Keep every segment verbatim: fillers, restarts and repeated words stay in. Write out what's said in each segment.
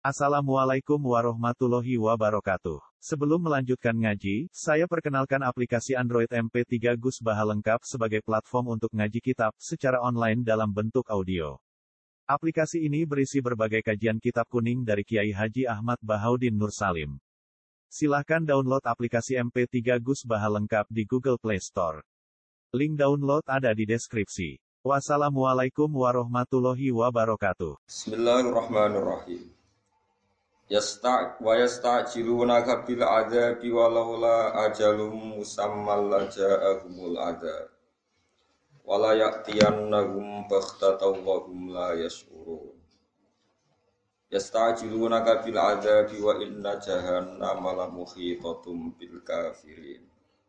Assalamualaikum warahmatullahi wabarakatuh. Sebelum melanjutkan ngaji, saya perkenalkan aplikasi Android M P tiga Gus Baha lengkap sebagai platform untuk ngaji kitab secara online dalam bentuk audio. Aplikasi ini berisi berbagai kajian kitab kuning dari Kiai Haji Ahmad Bahaudin Nur Salim. Silahkan download aplikasi M P tiga Gus Baha lengkap di Google Play Store. Link download ada di deskripsi. Wassalamualaikum warahmatullahi wabarakatuh. Bismillahirrahmanirrahim. Yasta' wa yasta'jilunaka bil 'adzabi walaula ajalum musammal laja'ahumul 'adzab wala ya'tiyannahum baghtatan wa hum la yash'urun. Yasta'jilunaka bil 'adzabi wa inna jahannama la muhitatum bil kafirin.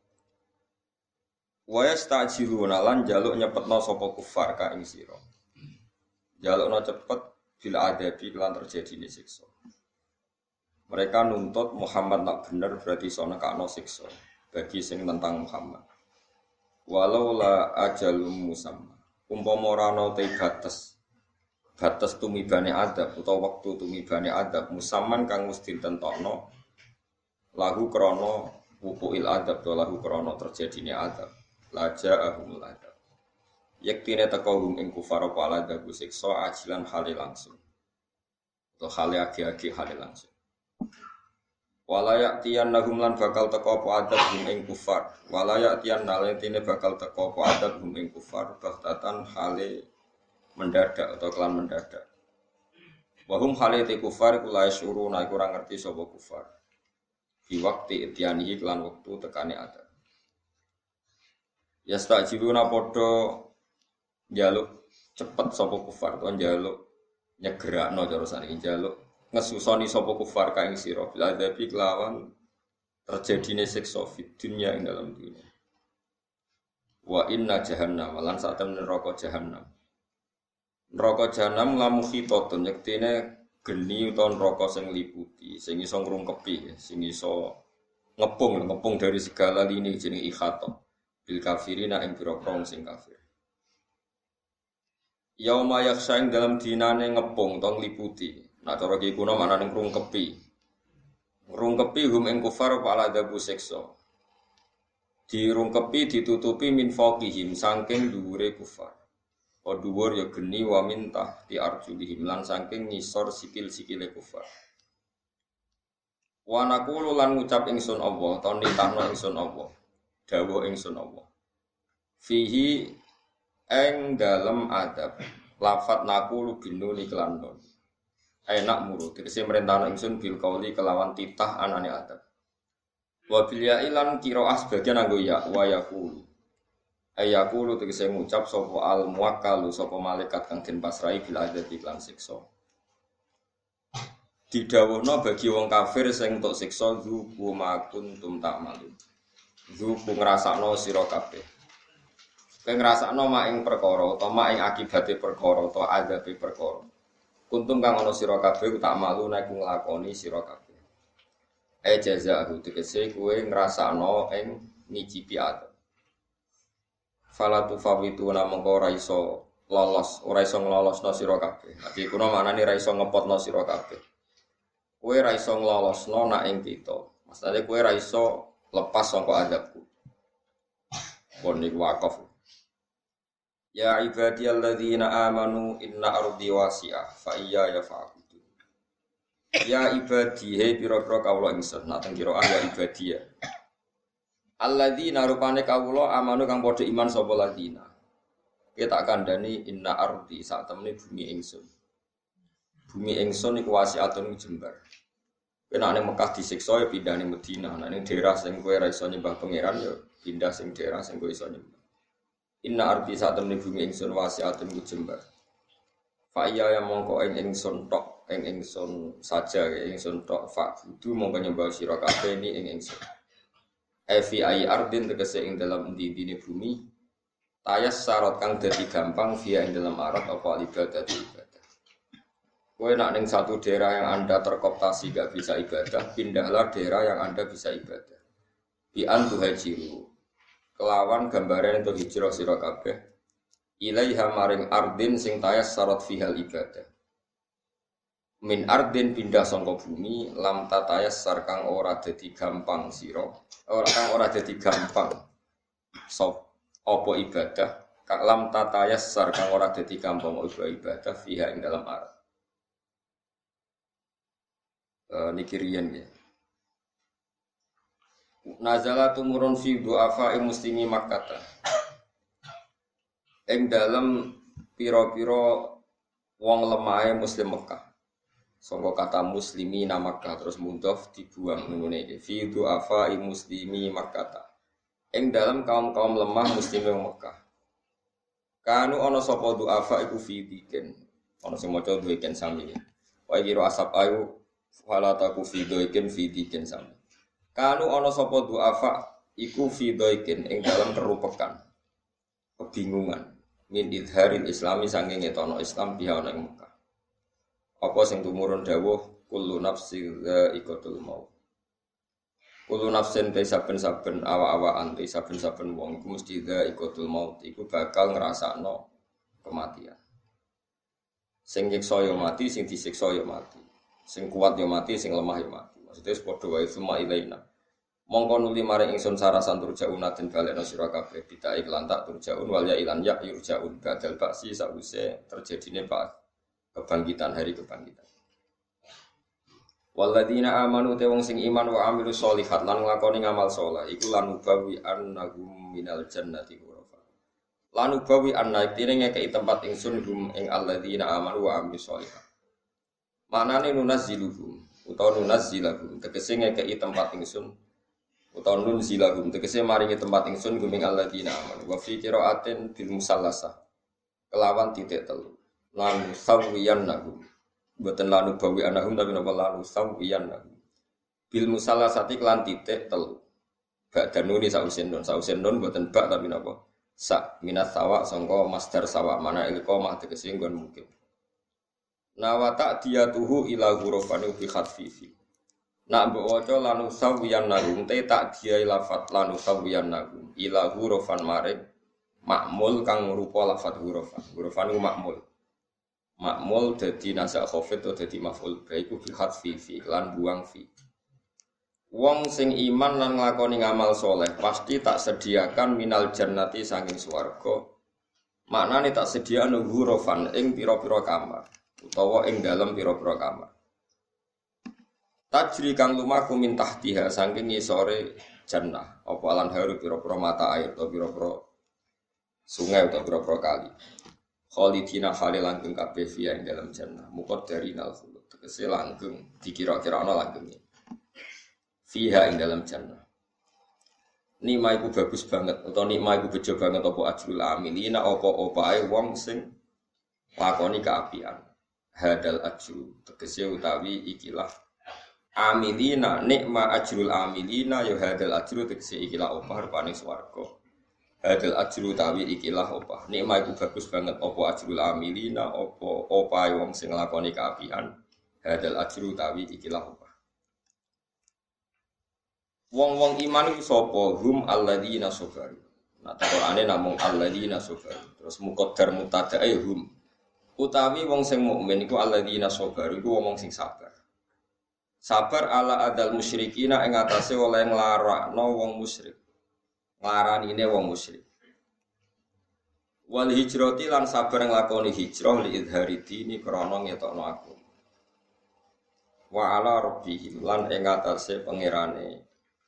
Wa yasta'jiluna lan jaluk nyepetno sapa kufar ka ing sira. Jalukno cepet bil 'adzabi lan terjadine siksa. Mereka nuntut Muhammad nak bener berarti iso nekakno siksa bagi sing tentang Muhammad. Walau la ajalum musamma. Umpama ora ana te batas. Batas tumibane adab utawa wektu tumibane adab musamman kang mesti ditentokno lahu krana wuqu'il adab to lahu krana terjadine adab. Laja ahumul adab. Yektine teka hum ing kufar apa adab siksa ajilan hale langsung. Atau hale agi-agi hale langsung. Walayak tiyan nahum lan bakal teko apa adab hum ing kufar. Walayak tiyan nalentine bakal teko apa adab hum ing kufar baghtatan hale mendadak atau kelan mendadak. Wahum hale te kufar kula syuruna iku ora ngerti sapa kufar. Di waktu ityanihi kelan wektu tekane adab. Yastajiluna padha njaluk cepet sapa kufar to njaluk nyegerakno cara saniki njaluk ngesusoni sapa kufar ka ing sira bil adzabi kelawan terjadine siksa fid dunya ing dalam dunia. Wa inna jahannam lan sak temen neraka jahannam. Neraka jahannam lamu khitatun yektene geni utawa neraka sing liputi, sing iso ngrungkepi, sing iso ngepung, ngepung dari segala lini jeneng ikhata. Bil kafirina ing pira-pira sing kafir. Yauma yakhshain dalam dinane ngepung tong liputi. Nah cara iki kuna manane ngrungkepi. Ngrungkepi hum ing kufar apa adabu siksa. Dirungkepi ditutupi min faqihim saking dhuwure kufar. O dhuwur ya geni wa min tahti arjulihim lan saking ngisor sikil-sikile kufar. Wa naqulu lan ngucap ingsun Allah, ta nitahno ingsun Allah. Dawuh ingsun Allah. Fihi ing dalem adab lafat naqulu binuni kelan nun. Enak muru tegese merentano ingsun bil qauli kelawan titah anane adab. Wa bil ya ilan qiraah sebagian nganggo ya wa yaqulu. Ayaqulu tegese ngucap sapa al muwakkalu sapa malaikat kang den pasrahi bil adab lan siksa. Didhawuhna bagi wong kafir sing entuk siksa zuku makuntum ta'malun. Zuku ngrasakno sira kabeh. Kowe ngrasakno mak ing perkara utawa mak ing akibate perkara utawa adabe perkara. Kuntum kang ana sira kabeh tak malu nek nglakoni sira kabeh. E jazaahu tegese kowe ngrasakno ing ngicipi adab. Fala tufawitu namangka ora iso lolos, ora iso nglolosno sira kabeh. Iki kuna maknane ora iso ngepotno sira kabeh. Kowe ora iso nglolosno nak ing kita. Maksudane kowe ora iso lepas saka adabku. Pon niku wakaf. Ya ibadiyalladzina amanu inna ardi wasi'ah fa iyya yafa'budun. Ya ibadi he pira-pira kawula ingsun nak teng kira ya ibadiyah. Alladzina rupane kawula amanu kang padha iman sapa ladina. Kita kandhani inna ardi sak temene bumi ingsun. Bumi ingsun iku wasi'atun jembar. Nek ning Mekah disiksa ya pindah ning Madinah, nek ning daerah sing kowe ora iso nyembah pangeran ya pindah sing daerah sing kowe iso nyembah. Inna ardi saat temne bumi ingsun wasi'atun jembar. Fa iya ya mongko ing ingsun tok, ing ingsun saja ingsun tok fa kudu mongko nyembah sira kabeh ni ing ingsun. E fi ai ardin tegese ing dalam endi-endine bumi tayas syarat kang dadi gampang via ing dalam arat apa ibadah ibadah. Kowe nak ning satu daerah yang Anda terkooptasi gak bisa ibadah, pindahlah daerah yang Anda bisa ibadah. Bi antu hajiru kelawan gambaran untuk hijrah sira kabeh ilaiha maring ardin sing tayas syarat fihal ibadah. min ardin pindah saka bumi lam tatayas kang ora dadi gampang sira ora kang ora dadi gampang sop apa ibadah kang lam tatayas kang ora dadi gampang apa ibadah fiha ing dalam ard e, niki riyen ya nazala tumurun fi du'afa muslimi Makkah ing dalem pira-pira wong lemahe muslim Mekah. Sangka kata muslimi na Makkah terus mudhof dibuang ngene iki fi du'afa muslimi Makkah. Ing dalem kaum-kaum lemah muslime Mekah. Kanu ana sapa du'afa iku fi diken. Ana sing maca duiken sami. Wa kira asap ayu wala taku fi duiken fi diken sami. Kanu ana sapa du'afa iku fi duiken ing dalem kerupekan. Kebingungan min idharil islami saking ngetono Islam biha ana ing Mekah. Apa sing tumurun dawuh kullu nafsin dha'iqatul maut. Kullu nafsin te saben-saben awa-awaan te saben-saben wong iku mesti dha'iqatul maut iku bakal ngrasakno kematian. Sing nyiksa ya mati, sing disiksa ya mati. Sing kuat ya mati, sing lemah ya mati. Maksudnya padha wae summa ilaina. Mongko nuli maring ingsun sarasan turjaun den balekno sira kabeh bita iklan tak turjaun wal ya ilan ya yurjaun badal baksi sause terjadine pak kebangkitan hari kebangkitan. Walladzina amanu te wong sing iman wa amilus sholihat lan nglakoni ngamal saleh iku lan ubawi annahum minal jannati ghurafa. Lan ubawi anna tine ngekeki tempat ingsun hum ing alladzina amanu wa amilus sholihat. Manane nunazziluhum utawa nunazzilahum tegese ngekeki tempat ingsun utawa nunzilahum tegese maringi tempat ingsun hum ing alladzina amanu wa fi qiraatin bil musallasah kelawan titik telu lan sawiyannahum boten lanu bawi anahum tapi napa lanu sawiyannahum bil musallasati kelan titik telu bak danuni sausen non sausen non boten bak tapi napa sa minat sawa sangka masdar sawa mana ilqa mah tegese nggon mungkin nawata diyatuhu ila ghurafan bi khatfifi nak mbok waca lanu sawiyannahum te tak dia lafat lanu sawiyannahum ila ghurafan maring makmul kang rupa lafat ghurafan ghurafan iku makmul makmul dadi nasak khafid atau dadi maf'ul baiku bi khatfi fi lan buang fi. Wong sing iman lan nglakoni ngamal soleh pasti tak sediakan minal jannati saking swarga. Maknane tak sediakno ghurafan ing pira-pira kamar utawa ing dalem pira-pira kamar. Tajri kang lumaku min tahtiha saking ngisore jannah apa lan haru pira-pira mata air utawa pira-pira sungai utawa pira-pira kali. Khalidina khali langgeng kabeh fiya ing dalam jannah muqaddarinal khulud tegese langgeng dikira-kira ana langgenge fiha ing dalam jannah nikmah iku bagus banget utawa nikmah iku bejo banget apa ajrul amilina apa opae wong sing lakoni kaapian hadal ajru tegese utawi ikilah amilina nikmah ajrul amilina ya hadal ajru tegese ikilah opah rupane swarga. Hadal ajru tawi ikilah opah. Nikmah iku bagus banget apa ajrul amilina apa opahe wong sing nglakoni kaapian. Hadal ajru tawi ikilah opah. Wong-wong iman iku sapa? Hum alladzina sabaru. Nah, Qur'ane namung alladzina sabaru. Terus muqaddar mutadae hum. Utawi wong sing mukmin iku alladzina sabaru iku wong sing sabar. Sabar ala adal musyrikina ing atase oleh nglarakno wong musyrik. Nglaranine wong musyrik. Wal hijrati lan sabar nglakoni hijrah li idhari dini krana ngetokno aku. Wa ala rabbihim lan ing atase pangerane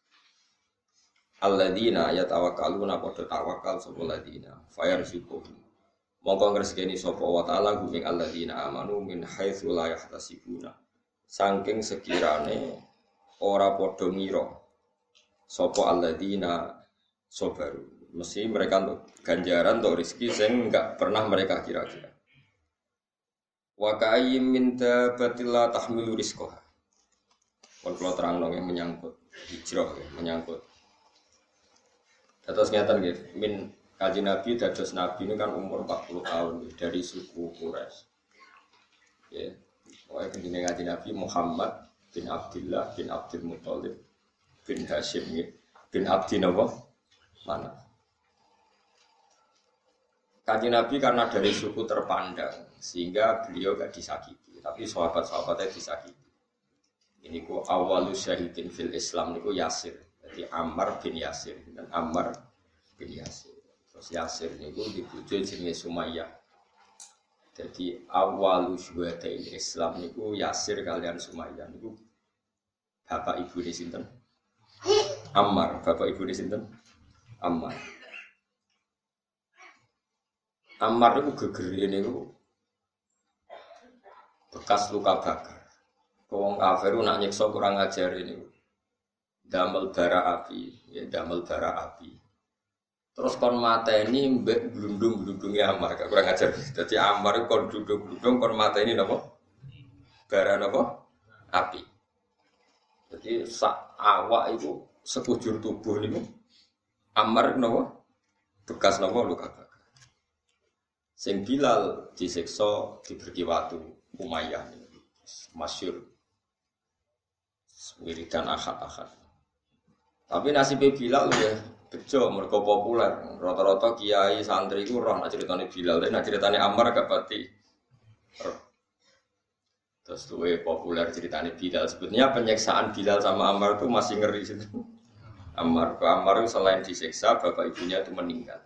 alladzina yatawakkaluna padha tawakal sapa ladina fayarzuquhum. Monggo ngresgeni sapa wa taala guming alladzina amanu min haitsu la yahtasibuna. Saking sekirane ora padha ngira sapa alladzina sabaru, mesti mereka untuk ganjaran untuk rezeki sing enggak pernah mereka kira-kira. Wa ka'ayyim min dabbatin la tahmilu rizqaha. Kon kula terangno yang menyangkut hijrah ya, menyangkut. Terus ngeten nggih, min Kanjeng Nabi dados nabi ini kan umur empat puluh tahun dari suku Quraisy. Ya. Pokoke jenenge Kanjeng Nabi Muhammad bin Abdullah bin Abdul Muthalib bin Hashim bin Abdi Nawaf mana? Kanjeng Nabi karena dari suku terpandang sehingga beliau gak disakiti. tapi sahabat-sahabatnya disakiti. Ini ku awalus syahidin fil Islam niku Yasir. Jadi Ammar bin Yasir dan Ammar bin Yasir. Terus Yasir niku dibojo jenenge Sumayyah. Jadi awalus syuhadail Islam niku Yasir kalian Sumayyah niku bapak ibu di sinten? Ammar, bapak ibu di sinten? Ammar. Ammar niku gegere niku bekas luka bakar. Wong kafir nak nyiksa kurang ajar ini. Damel bara api, ya damel bara api. Terus kon mateni mbek glundung-glundunge Ammar, kurang ajar. Dadi Ammar kon glundung-glundung kon mateni napa? Bara napa? Api. Jadi sak awak itu sekujur tubuh niku Ammar napa? Bekas napa luka bakar. Sing Bilal disiksa diberi watu Umayyah niku. Masyhur wiridan akad-akad. Tapi nasibnya Bilal ya bejo, mereka populer. Rata-rata kiai santri itu roh nak ceritanya Bilal, tapi nak ceritanya Ammar gak pati. Terus tuh populer ceritanya Bilal. Sebetulnya penyiksaan Bilal sama Ammar itu masih ngeri sih. Ammar, Ammar itu selain disiksa, bapak ibunya itu meninggal.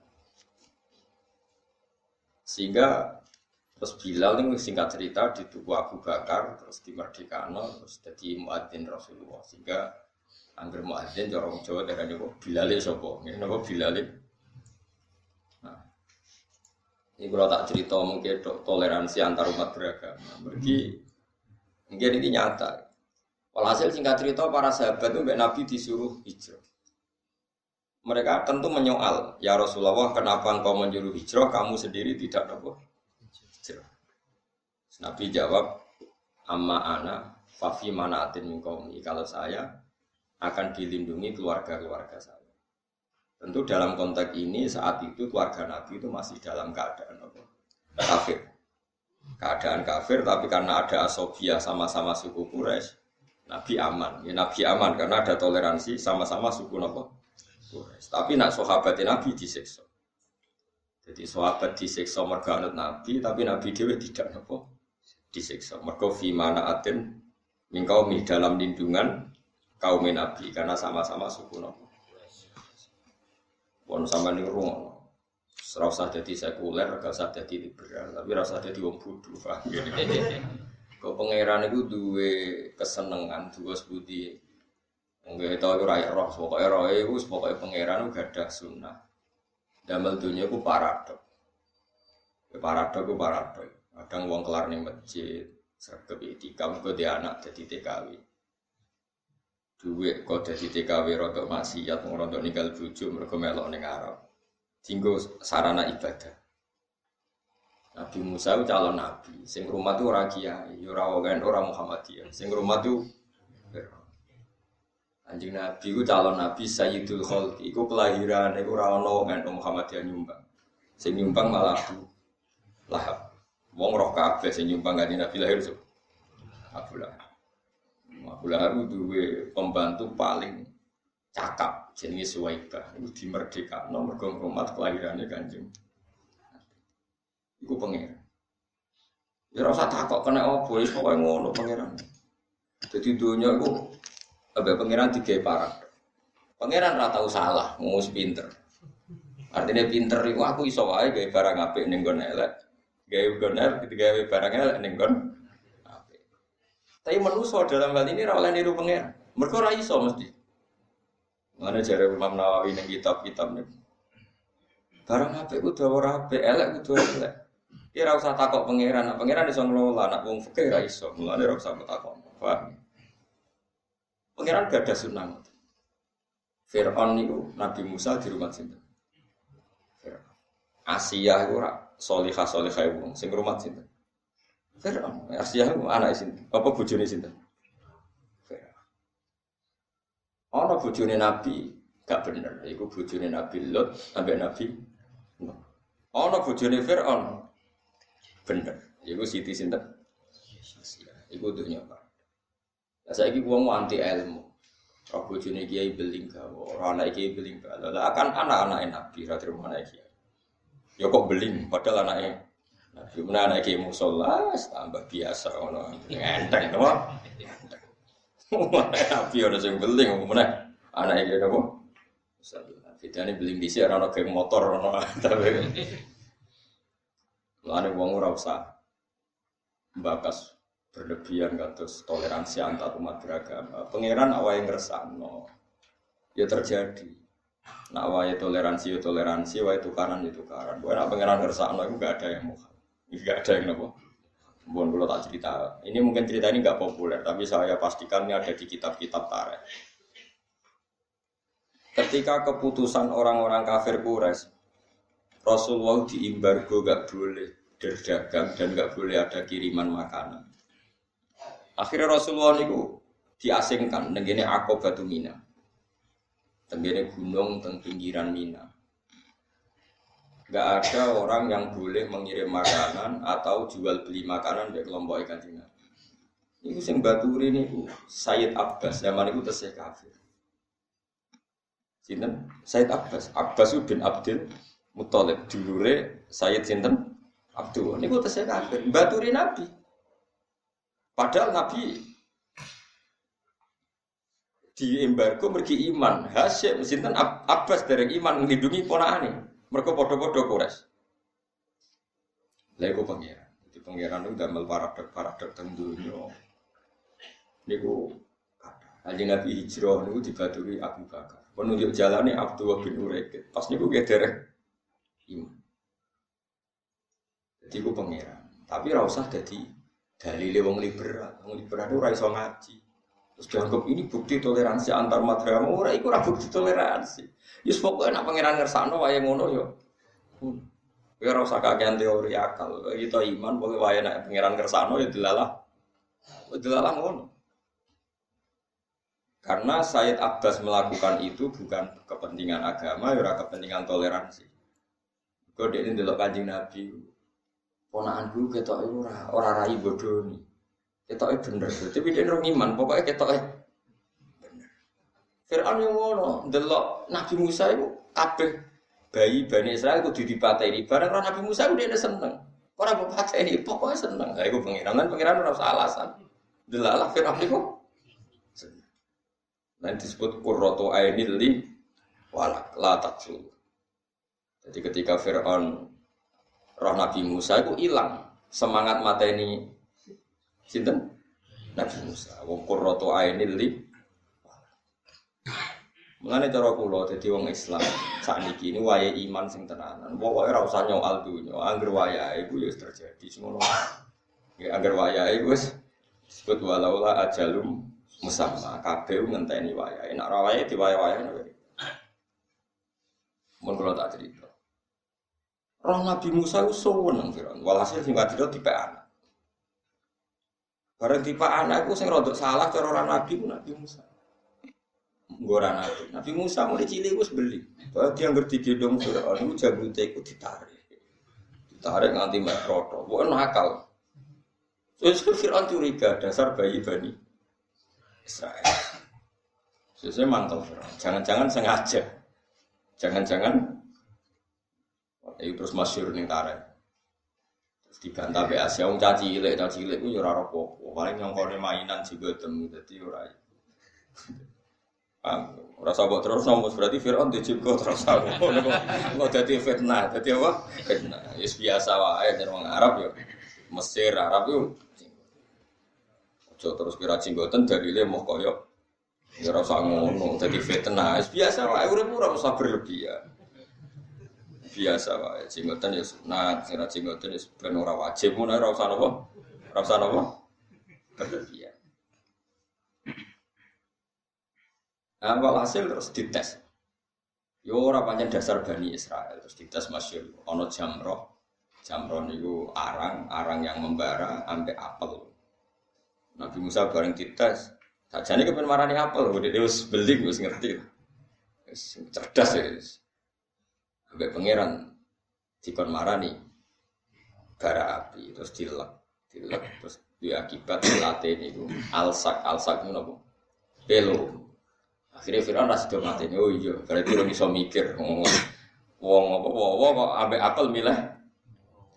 Sehingga terus Bilal ini singkat cerita dituku Abu Bakar, terus dimerdekano, terus jadi muadzin Rasulullah. Sehingga angger muadzin orang Jawa darahnya kok Bilal sapa? Ngene napa Bilal? Nah. Ini kalau tak cerita mungkin toleransi antar umat beragama. Bagi mungkin ini nyata. Walhasil singkat cerita para sahabat itu mbak Nabi disuruh hijrah. Mereka tentu menyoal, ya Rasulullah, kenapa engkau menyuruh hijrah, kamu sendiri tidak apa? Nabi jawab, amma ana fafi manaatin min qaumi. Kalau saya akan dilindungi keluarga-keluarga saya. Tentu dalam konteks ini saat itu keluarga Nabi itu masih dalam keadaan apa? Kafir. Keadaan kafir, tapi karena ada asobiyah sama-sama suku Quraisy, Nabi aman. Ya, Nabi aman karena ada toleransi sama-sama suku apa? Quraisy. Tapi nak sahabatnya Nabi disiksa. Jadi sahabat disiksa mergo anut Nabi, tapi Nabi dhewe tidak apa? Disiksa. Mergo fi manaatin min qaumi dalam lindungan kaum Nabi karena sama-sama suku Nabi. Wong sampeyan niku rung. Ora usah dadi sekuler, ora usah dadi liberal, tapi ora usah dadi wong bodho, paham ngene. Kok pangeran iku duwe kesenengan, duwe budi. Nggih ta ora roh, pokoke rohe iku pokoke pangeran gadah sunah. Damel dunya iku paradok. Paradok iku paradok. Kadang wong kelar ning masjid, sregep itikam kok dia anak dadi T K W. Duwe kok dadi T K W rodok maksiat, rodok ninggal bojo mergo melok ning Arab. Dinggo sarana ibadah. Nabi Musa itu calon nabi, sing rumah itu ora kiai, ora wong ora Muhammadiyah. Sing rumah itu Anjing Nabi itu calon Nabi Sayyidul Khalqi. Iku kelahiran iku ora ana wong Muhammadiyah nyumbang. Sing nyumbang malah Abu Lahab. Wong roh kabeh sing nyumbang kanjeng Nabi lahir so. Abu Lahab. Abu Lahab duwe pembantu paling cakap jenenge Suwaibah. Iku dimerdekakno mergo ngrumat kelahirane kanjeng. Iku pangeran. Ya ora usah takok kena opo, wis pokoke ngono pangeran. Dadi donya iku ambek pangeran digawe parah. Pangeran ora tau salah, ngomong pinter. Artinya pinter iku aku iso wae gawe barang apik ning nggon elek. Gawe goner ketika gawe barangnya ning kon. Tapi manusia dalam hal ini ora oleh niru pangeran. Mergo ora iso mesti. Mane jare Imam Nawawi ning kitab-kitab niku. Barang apik kudu ora apik, elek kudu elek. Ki ora usah takok pangeran, nek pangeran iso ngelola, nek wong fikih ora iso. Mulane ora usah takok. Paham? Pangeran gak ada sunah. Fir'aun niku Nabi Musa di rumah sinten? Fir'aun. Asia iku ora solihah solihah wong sing rumah sinten? Fir'aun. Asia iku anak sinten? Apa bojone sinten? Fir'aun. Ana bojone Nabi gak bener, iku bojone Nabi Lot ambek Nabi Nuh. Ana bojone Fir'aun bener, iku Siti sinten? Asia. Iku dunya Pak. Lah saiki wong anti ilmu. Ora bojone kiai beling gawe, ora anak kiai beling gawe. Lah akan anak-anak Nabi ra terima anak kiai. Ya kok beling padahal anake Nabi mana anak kiai musola tambah biasa ono enteng napa? Nabi ora sing beling apa meneh anak kiai napa? Bedane beling dhisik ora ono geng motor ono tapi. Lane wong ora usah bakas berlebihan kados toleransi antar umat beragama. Pangeran awake ngersakno. Ya terjadi. Nak wae toleransi ya toleransi, wae tukaran ya tukaran. Wae nak pangeran ngersakno iku enggak ada yang mau. Enggak ada yang napa. Mohon kula tak cerita. Ini mungkin cerita ini enggak populer, tapi saya pastikan ini ada di kitab-kitab tarikh. Ketika keputusan orang-orang kafir Quraisy, Rasulullah diembargo enggak boleh berdagang dan enggak boleh ada kiriman makanan. Akhirnya Rasulullah niku diasingkan teng kene Aqabatu Mina. Teng kene gunung teng pinggiran Mina. Enggak ada orang yang boleh mengirim makanan atau jual beli makanan dari kelompok Kanjeng Nabi. Niku sing baturi niku Sayyid Abbas zaman niku tesih kafir. Sinten? Sayyid Abbas. Abbas bin Abdul Muthalib dulure Sayyid sinten? Abdul. Niku tesih kafir. Baturi Nabi. Padahal Nabi di embargo mergi iman. Hasyim sinten Abbas dereng iman nglindungi ponakane. Mergo padha-padha Quraisy. Lha iku pangeran. Dadi pangeran niku damel paradok-paradok teng donya. Niku Kanjeng Nabi hijrah niku dibaturi Abu Bakar. Penunjuk jalane Abdullah bin Uraikid. Pas niku ge dereng iman. Dadi ku pangeran. Tapi ora usah dadi dalile wong liberal. Wong liberal ora iso ngaji. Terus dianggap ini bukti toleransi antar madrasah. Ora iku ora bukti toleransi. Yus pokoke nek pangeran ngersakno wae ngono ya. Kowe ora usah kakean teori akal. Kita iman pokoke wae nek pangeran ngersakno ya delalah. Delalah ngono. Karena Sayyid Abbas melakukan itu bukan kepentingan agama, ya ora kepentingan toleransi. Kok dekne ndelok Kanjeng Nabi. Ponakanku ketoke ora ora rai bodoni. Ketoke bener. Tapi dia ora iman, pokoke ketoke bener. Firaun yo ngono, ndelok Nabi Musa iku kabeh bayi Bani Israil kudu dipateni. Bareng ora Nabi Musa ku dhekne seneng. Ora mbok pateni, pokoke seneng. Lah iku pengiran lan pengiran ora usah alasan. Delalah Firaun iku nanti disebut qurratu ainil li walak la taqsul. Jadi ketika Firaun roh Nabi Musa itu hilang semangat mateni sinten Nabi Musa. Wong qurratu ainil li. Mulane cara kula dadi wong Islam sakniki ini wayahe iman sing tenanan. Pokoke ora usah nyoal dunya, angger wayahe iku ya wis terjadi semono. Ya angger wayahe wis disebut walaula ajalum musamma kabeh ngenteni wayahe. Nek ora wayahe diwayahe wae. Mun kula tak cerita. Roh Nabi Musa ku suweneng Firaun. Walhasil sing wadira dipek anak. Bareng dipek anak ku sing rodok salah cara ora Nabi ku Nabi Musa. Nggo ora Nabi. Nabi Musa mulai cilik wis beli. Bahwa dia ngerti digendong Firaun iku jambute iku ditarik. Ditarik nganti mek roto. Pokoke nakal. Terus Firaun curiga dasar bayi Bani Israel. Sesuai mantap, jangan-jangan sengaja, jangan-jangan, itu terus masyhur ning tarik, terus dibantah be Asia, wong caci cilik, caci cilik, itu ora apa-apa, paling nyongkone mainan juga temu, jadi ora. Ora sabok terus nomus berarti Firaun dijibgo terus aku, kok dadi fitnah, dadi apa? Fitnah, is biasa wae dari wong Arab yo, Mesir Arab yo. Ojo terus kira jenggoten dalile moh kaya ya ora usah ngono dadi fitnah biasa wae urip ora usah berlebihan biasa wae jenggoten ya sunat kira jenggoten wis ben ora wajib ngono ora usah napa ora usah napa berlebihan. Awal hasil terus dites yo ora pancen dasar Bani Israel terus dites masyhur ana jamroh jamroh niku arang arang yang membara ambek apel. Nabi Musa bareng dites, sajane kepen marani apel, dhewe wis beli wis ngerti. Wis cerdas ya. Ambek pangeran dikon marani bara api terus dilek, dilek terus diakibat late niku alsak alsak ngono apa? Pelo. Akhire Firaun ra sido mateni. Oh iya, berarti ora iso mikir. Wong apa wong kok ambek apel milih.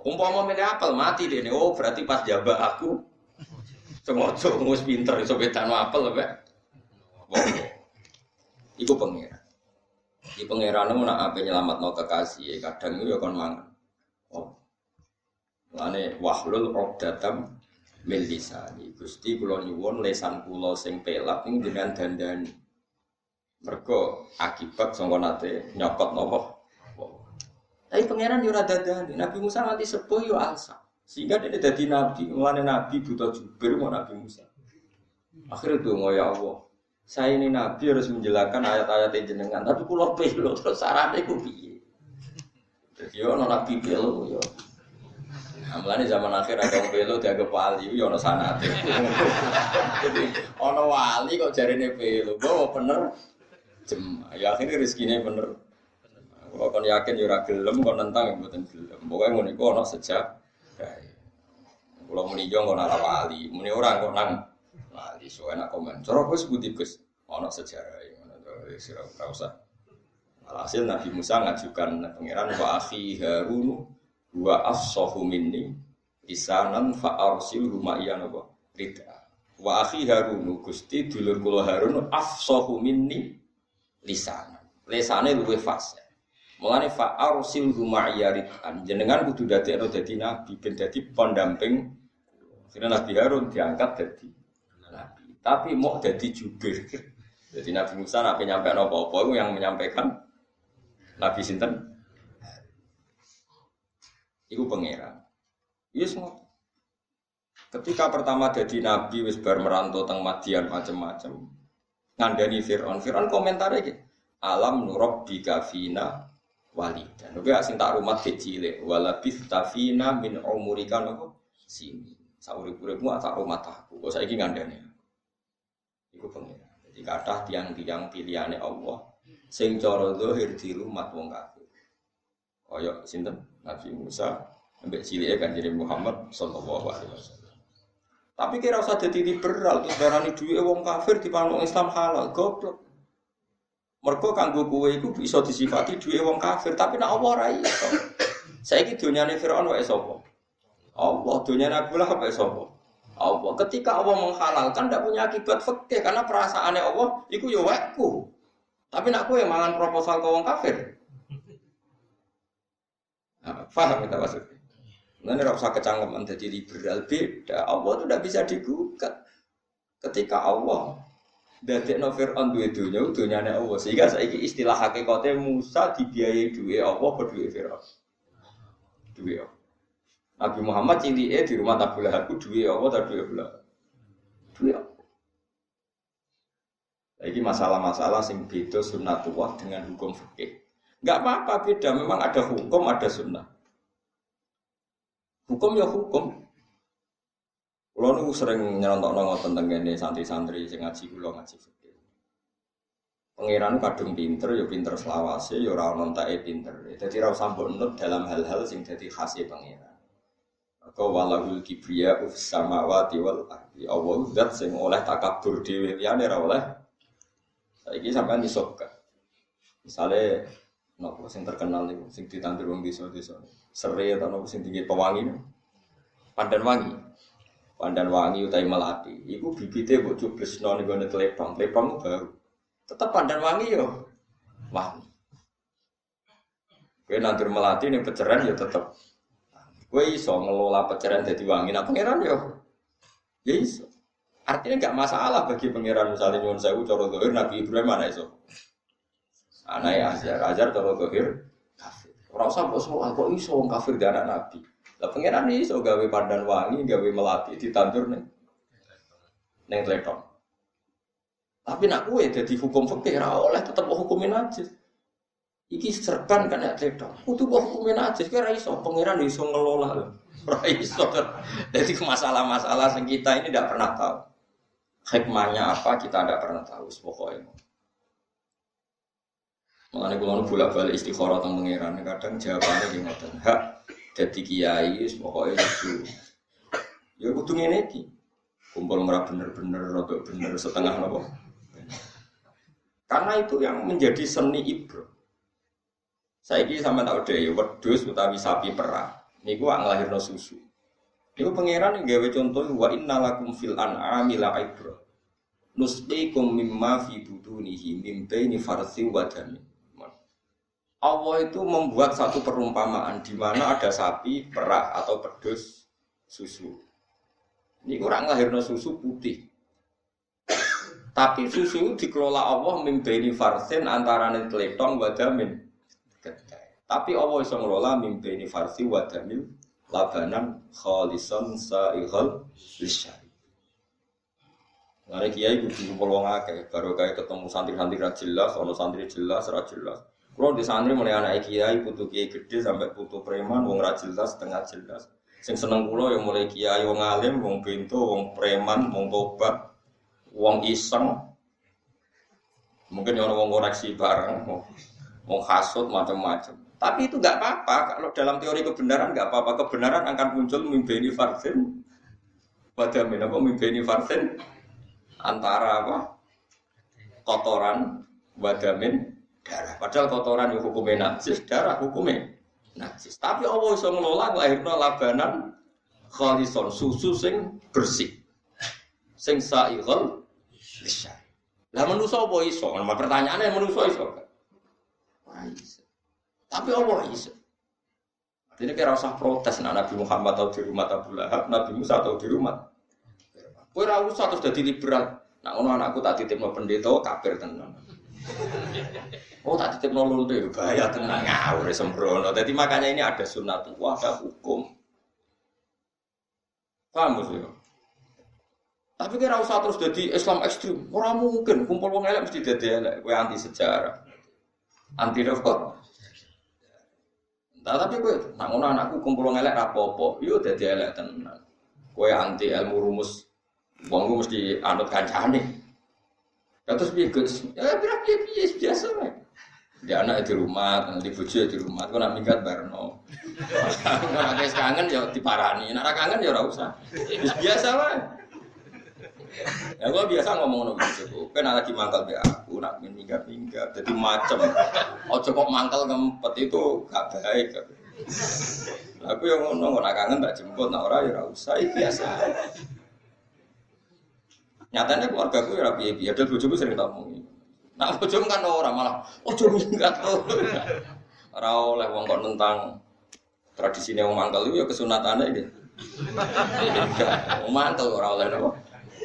Umpama milih apel mati dene. Oh, berarti pas jabak aku sengaja ngus pinter iso bedano apel apa? Wong. Iku pengira. Iki pangerane nak ape nyelametno kekasih, kadang yo kon mangan. Oh. Lane wahlul uqdatam min lisani. Gusti kula nyuwun lesan kula sing pelat ning jenengan dandani. Mergo akibat sangka nate nyokot napa? Tapi pangeran yo ora dadani. Nabi Musa nganti sepuh yo alsa. Sehingga dia dadi nabi, mulane nabi buta jubir mau Nabi Musa. Akhirnya donga ya Allah. Saya ini nabi harus menjelaskan ayat-ayat jenengan, tapi kula pelo terus sarane ku piye? Dadi yo ana nabi pelo yo. Amlane zaman akhir ada wong pelo dianggap wali yo ana sanate. Jadi ana wali kok jarene pelo, bawa bener jem. Ya akhirnya rezekine bener. Kalau kon yakin yo ora gelem kon nentang mboten gelem. Pokoke ngono iku ana sejak kae. Kula muni yo ngono ora wali, muni ora kok nang wali so enak komen. Cara Gus budi Gus ana sejarah ngono to wis ora usah. Alhasil Nabi Musa ngajukan pangeran wa akhi Harun wa afsahu minni lisanan fa arsilhu ma'iyan apa rida. Wa akhi Harun Gusti dulur kula Harun afsahu minni lisanan. Lisane luwih fasih. Mulane fa arsilhu ma'iyarid jenengan kudu dadekno dadi nabi ben dadi pendamping. Karena Nabi Harun diangkat dadi nabi, tapi mau dadi jubir. Jadi Nabi Musa nak menyampaikan apa-apa itu yang menyampaikan Nabi sinten. Iku pangeran. Yes ngono. Ketika pertama dadi nabi wis bar merantau teng Madian macam-macam. Ngandani Firaun. Firaun komentare iki. Alam nurabbika fina walidan. Oke, sing tak rumah kecil, walabith tafina min umurika nopo sini. Saurip-uripmu tak rumah tahku. Kok saiki ngandani. Iku pengira. Jadi kathah tiang-tiang pilihane Allah sing cara zahir dirumat wong kafir. Kaya sinten? Nabi Musa ambek cilike Kanjeng Muhammad sallallahu alaihi wasallam. Tapi kira usah dadi liberal, darani duwe wong kafir dipanuk Islam halal, goblok. Mergo kanggo kowe iku bisa disifati duwe wong kafir, tapi nek Allah ora iso. Saiki donyane Firaun wae sapa? Allah, donyane Abu Lahab wae sapa? Allah. Ketika Allah menghalalkan tidak punya akibat fikih karena perasaannya Allah iku ya waeku. Tapi nek kowe mangan proposal ke wong kafir. Nah, paham kita maksudnya? Nah, ini ora usah kecangkeman dadi liberal beda. Allah itu tidak bisa digugat. Ketika Allah dadekno Firaun duwe donya, donyane Allah. Sehingga saiki istilah hakikate Musa dibiayai duwe Allah apa duwe Firaun? Duwe Allah. Nabi Muhammad cilike di rumah Abu Lahab duwe Allah ta duwe Abu Lahab? Duwe Allah. Iki masalah-masalah sing beda sunnatullah dengan hukum fikih. Enggak apa-apa beda, memang ada hukum, ada sunnah. Hukum ya hukum. Kulo niku sering nyerontokno ngoten teng kene santri-santri sing ngaji kula ngaji fikih. Pangeran kadung pinter ya pinter selawase ya ora ono entake pinter. Dadi ora usah mbok dalam hal-hal sing dadi khase pangeran. Maka walahul kibriya ufis samawati wal ardi. Allah zat sing oleh takabur dhewe liyane ora oleh. Saiki sampean iso gak. Misale nopo sing terkenal niku sing ditandur wong desa-desa. Sere ta nopo sing tinggi pewangi. Pandan wangi. Pandan wangi utawi melati. Iku bibite mbok cublesno ning gone tlepong. Tlepong baru. Tetep pandan wangi yo wangi. Kowe nandur melati ning peceran ya tetep. Kowe iso ngelola peceran dadi wangi. Nah pangeran yo ya iso. Artinya enggak masalah bagi pangeran misalnya nyuwun sewu cara zahir Nabi Ibrahim ana iso. Anake Azar, Azar cara zahir kafir. Ora usah kok soal kok iso wong kafir di anak Nabi. Lah pangeran iso gawe pandan wangi, gawe melati ditandur ning ning tletong. Tapi nak kowe dadi hukum fikih ora oleh tetep hukumin najis. Iki serban kan nek tletong. Kudu kok hukumin najis kira iso pangeran iso ngelola. Ora iso. Dadi masalah-masalah sing kita ini tidak pernah tahu. Hikmahnya apa kita tidak pernah tahu pokoknya. Mulane kula bolak-balik istikharah teng pangeran kadang jawabane ki ngoten. Hak dadi kiai wis pokoke itu. Ya kudu ngene iki. Kumpul ora bener-bener rada bener setengah napa. Karena itu yang menjadi seni ibro. Saiki sampean tak udah ya wedhus utawi sapi perah. Niku nglahirno susu. Niku pangeran nggawe contoh wa innalakum fil an'ami la'ibra. Nusqikum mimma fi budunihi mim baini farsi wa dami. Allah itu membuat satu perumpamaan di mana ada sapi perah atau pedus susu. Ini kurang lahirno susu putih. Tapi susu dikelola Allah mim baini farsin antarané tletong wa damin. Tapi Allah iso ngelola mim baini farsi wa damil labanan khalisan sa'ighal lisyari. Ngene kiai kudu kumpul wong akeh, baru kae ketemu santri-santri ra jelas, ana santri jelas, ra jelas. Kulo di santri mulai anak kiai, putu kiai gede sampai putu preman, wong ra jelas, setengah jelas. Sing seneng kulo yang mulai kiai wong alim, wong bento, wong preman, wong tobat, wong iseng. Mungkin ana wong koreksi bareng, wong hasud macam-macam. Tapi itu enggak apa-apa, kalau dalam teori kebenaran enggak apa-apa. Kebenaran akan muncul mimbeni farsin. Pada min apa mimbeni farsin? Antara apa? Kotoran wadamin darah. Padahal kotoran itu hukumnya najis, darah hukumnya najis. Tapi Allah bisa ngelola lahirna labanan khalison, susu sing bersih. Sing sa'ighal lisyari. Lah manusa apa iso? Nah, pertanyaannya manusa iso gak? Ora iso. Tapi Allah iso. Artinya kira usah protes nah, Nabi Muhammad atau di rumah Abu Lahab, Nabi Musa atau di rumah. Kowe ora usah terus dadi liberal. Nak ngono anakku tak titipno pendeta kafir tenan. Oh tak titipno lulute bahaya tenan ngawur sembrono. Dadi makanya ini ada sunnatullah, ada hukum. Paham sih? Tapi kira usah terus dadi Islam ekstrem. Ora mungkin kumpul wong elek mesti dadi elek. Kowe anti sejarah. Anti apa? Nah, tapi kowe nak ngono anakku kumpul wong elek ra apa-apa. Yo dadi elek tenan. Kowe anti ilmu rumus. Wong ku mesti anut kancane. Ya terus piye Gus? Ya piye-piye biasa wae. Dia anak di rumah, nanti bojo di rumah, kok nak minggat barno. Nek wis kangen ya diparani, nek ora kangen ya ora usah. Wis biasa wae. Ya gua biasa ngomong ngono bojoku. Kan lagi mangkal be aku, nak minggat-minggat dadi macem. Aja kok mangkal ngempet itu gak baik. Aku yang ngono, nek kangen tak jemput, nek ora ya ora usah, biasa. Nyatanya keluarga gue ya piye-piye, ada bojoku sering tak omongi. Nah bojoku kan ora malah, ojo minggat to. Ora oleh wong kok nentang tradisine wong mangkel itu ya kesunatane iki. Wong mangkel ora oleh napa.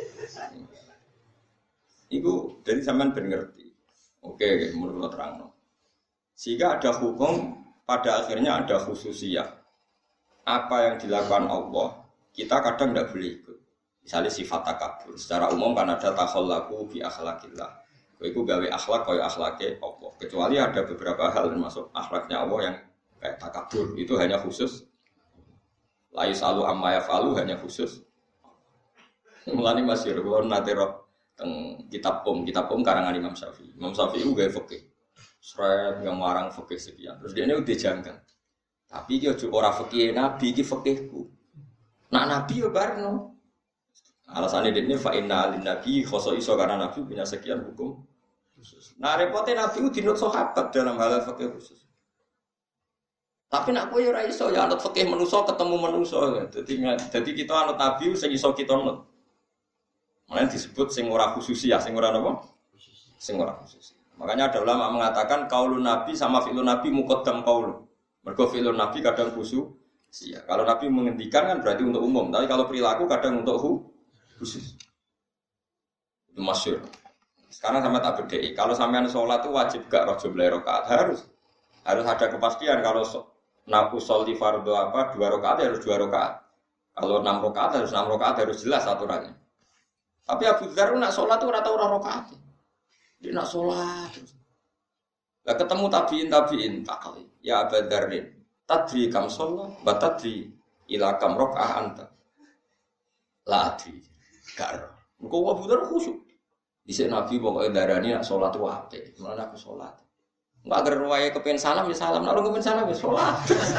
Iku dari sampean ben ngerti. Oke, menurut terangno. Sehingga ada hukum pada akhirnya ada khususiyah. Apa yang dilakukan Allah, kita kadang tidak boleh ikut. Misalnya sifat takabur, secara umum kan ada takhallaku bi akhlaqillah. Kowe gawe akhlak kaya akhlake Allah. Kecuali ada beberapa hal termasuk akhlaknya Allah yang kayak takabur, itu hanya khusus. La yusalu amma yafalu hanya khusus. Mulane masyhur kula nate ro teng kitab Om, kitab Om karangan Imam Syafi'i. Imam Syafi'i gawe fikih. Sret yang marang fikih sekian. Terus dia ini udah janggal. Tapi iki ojo ora fikih Nabi, iki fikihku. Nak Nabi yo barno. Alasannya ini fa inna lin nabi khoso iso karena nabi punya sekian hukum khusus. Nah repotnya nabi itu dinut sahabat dalam hal fikih khusus. Tapi nak kowe ora iso ya anut fikih manusa ketemu manusa. Dadi dadi kita anut nabi sing iso kita anut. Mulane disebut sing ora khususiyah, sing ora napa? Sing ora khusus. Makanya ada ulama mengatakan qaulun nabi sama fi'lun nabi muqaddam qaul. Mergo fi'lun nabi kadang khusus. Iya, kalau nabi menghentikan kan berarti untuk umum, tapi kalau perilaku kadang untuk hu khusus. Itu masyhur. Sekarang sama tak bedai. Kalau sampean sholat itu wajib gak roh jumlah rakaat harus. Harus ada kepastian kalau naku sholli fardhu apa dua rakaat harus dua rakaat. Kalau enam rakaat harus enam rakaat harus jelas aturannya. Tapi Abu Dzar nak sholat itu ora tau ora rakaat. Dia nak sholat. Lah ketemu tabiin tabiin takal. Ya Abu Dzar tadri kam sholat, batadri ila kam rakaah anta. La adri. Karo, engkau Abu Dzar khusyuk. Dhisik Nabi pokoke darani nak salat wae, mulane aku salat. Enggak agar wae kepen salam ya salam, nek ora kepen salam ya salat.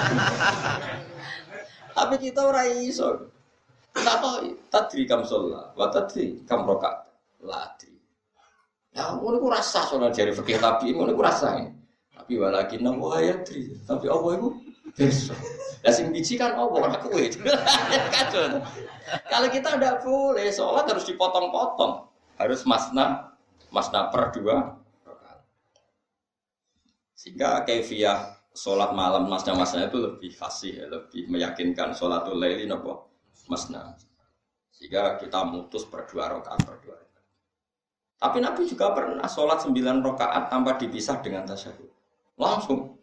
Tapi kita ora iso. Kenapa? Tadri kam sholat, wa tadri kam rakaat. Ladri. Ya ngono ku rasa salat jare fikih tabi, ngono ku rasa. Tapi walakin wa yadri. Tapi apa iku? besok. Lah sing biji kan opo ora kowe. Kacau. Kalau kita ndak boleh sholat harus dipotong-potong. Harus masna, masna per dua rakaat. Sehingga kaifiyah sholat malam masna-masna itu lebih fasih, lebih meyakinkan sholatul laili napa masna. Sehingga kita mutus per dua rakaat per dua rakaat. Tapi Nabi juga pernah sholat sembilan rakaat tanpa dipisah dengan tasyahud. Langsung.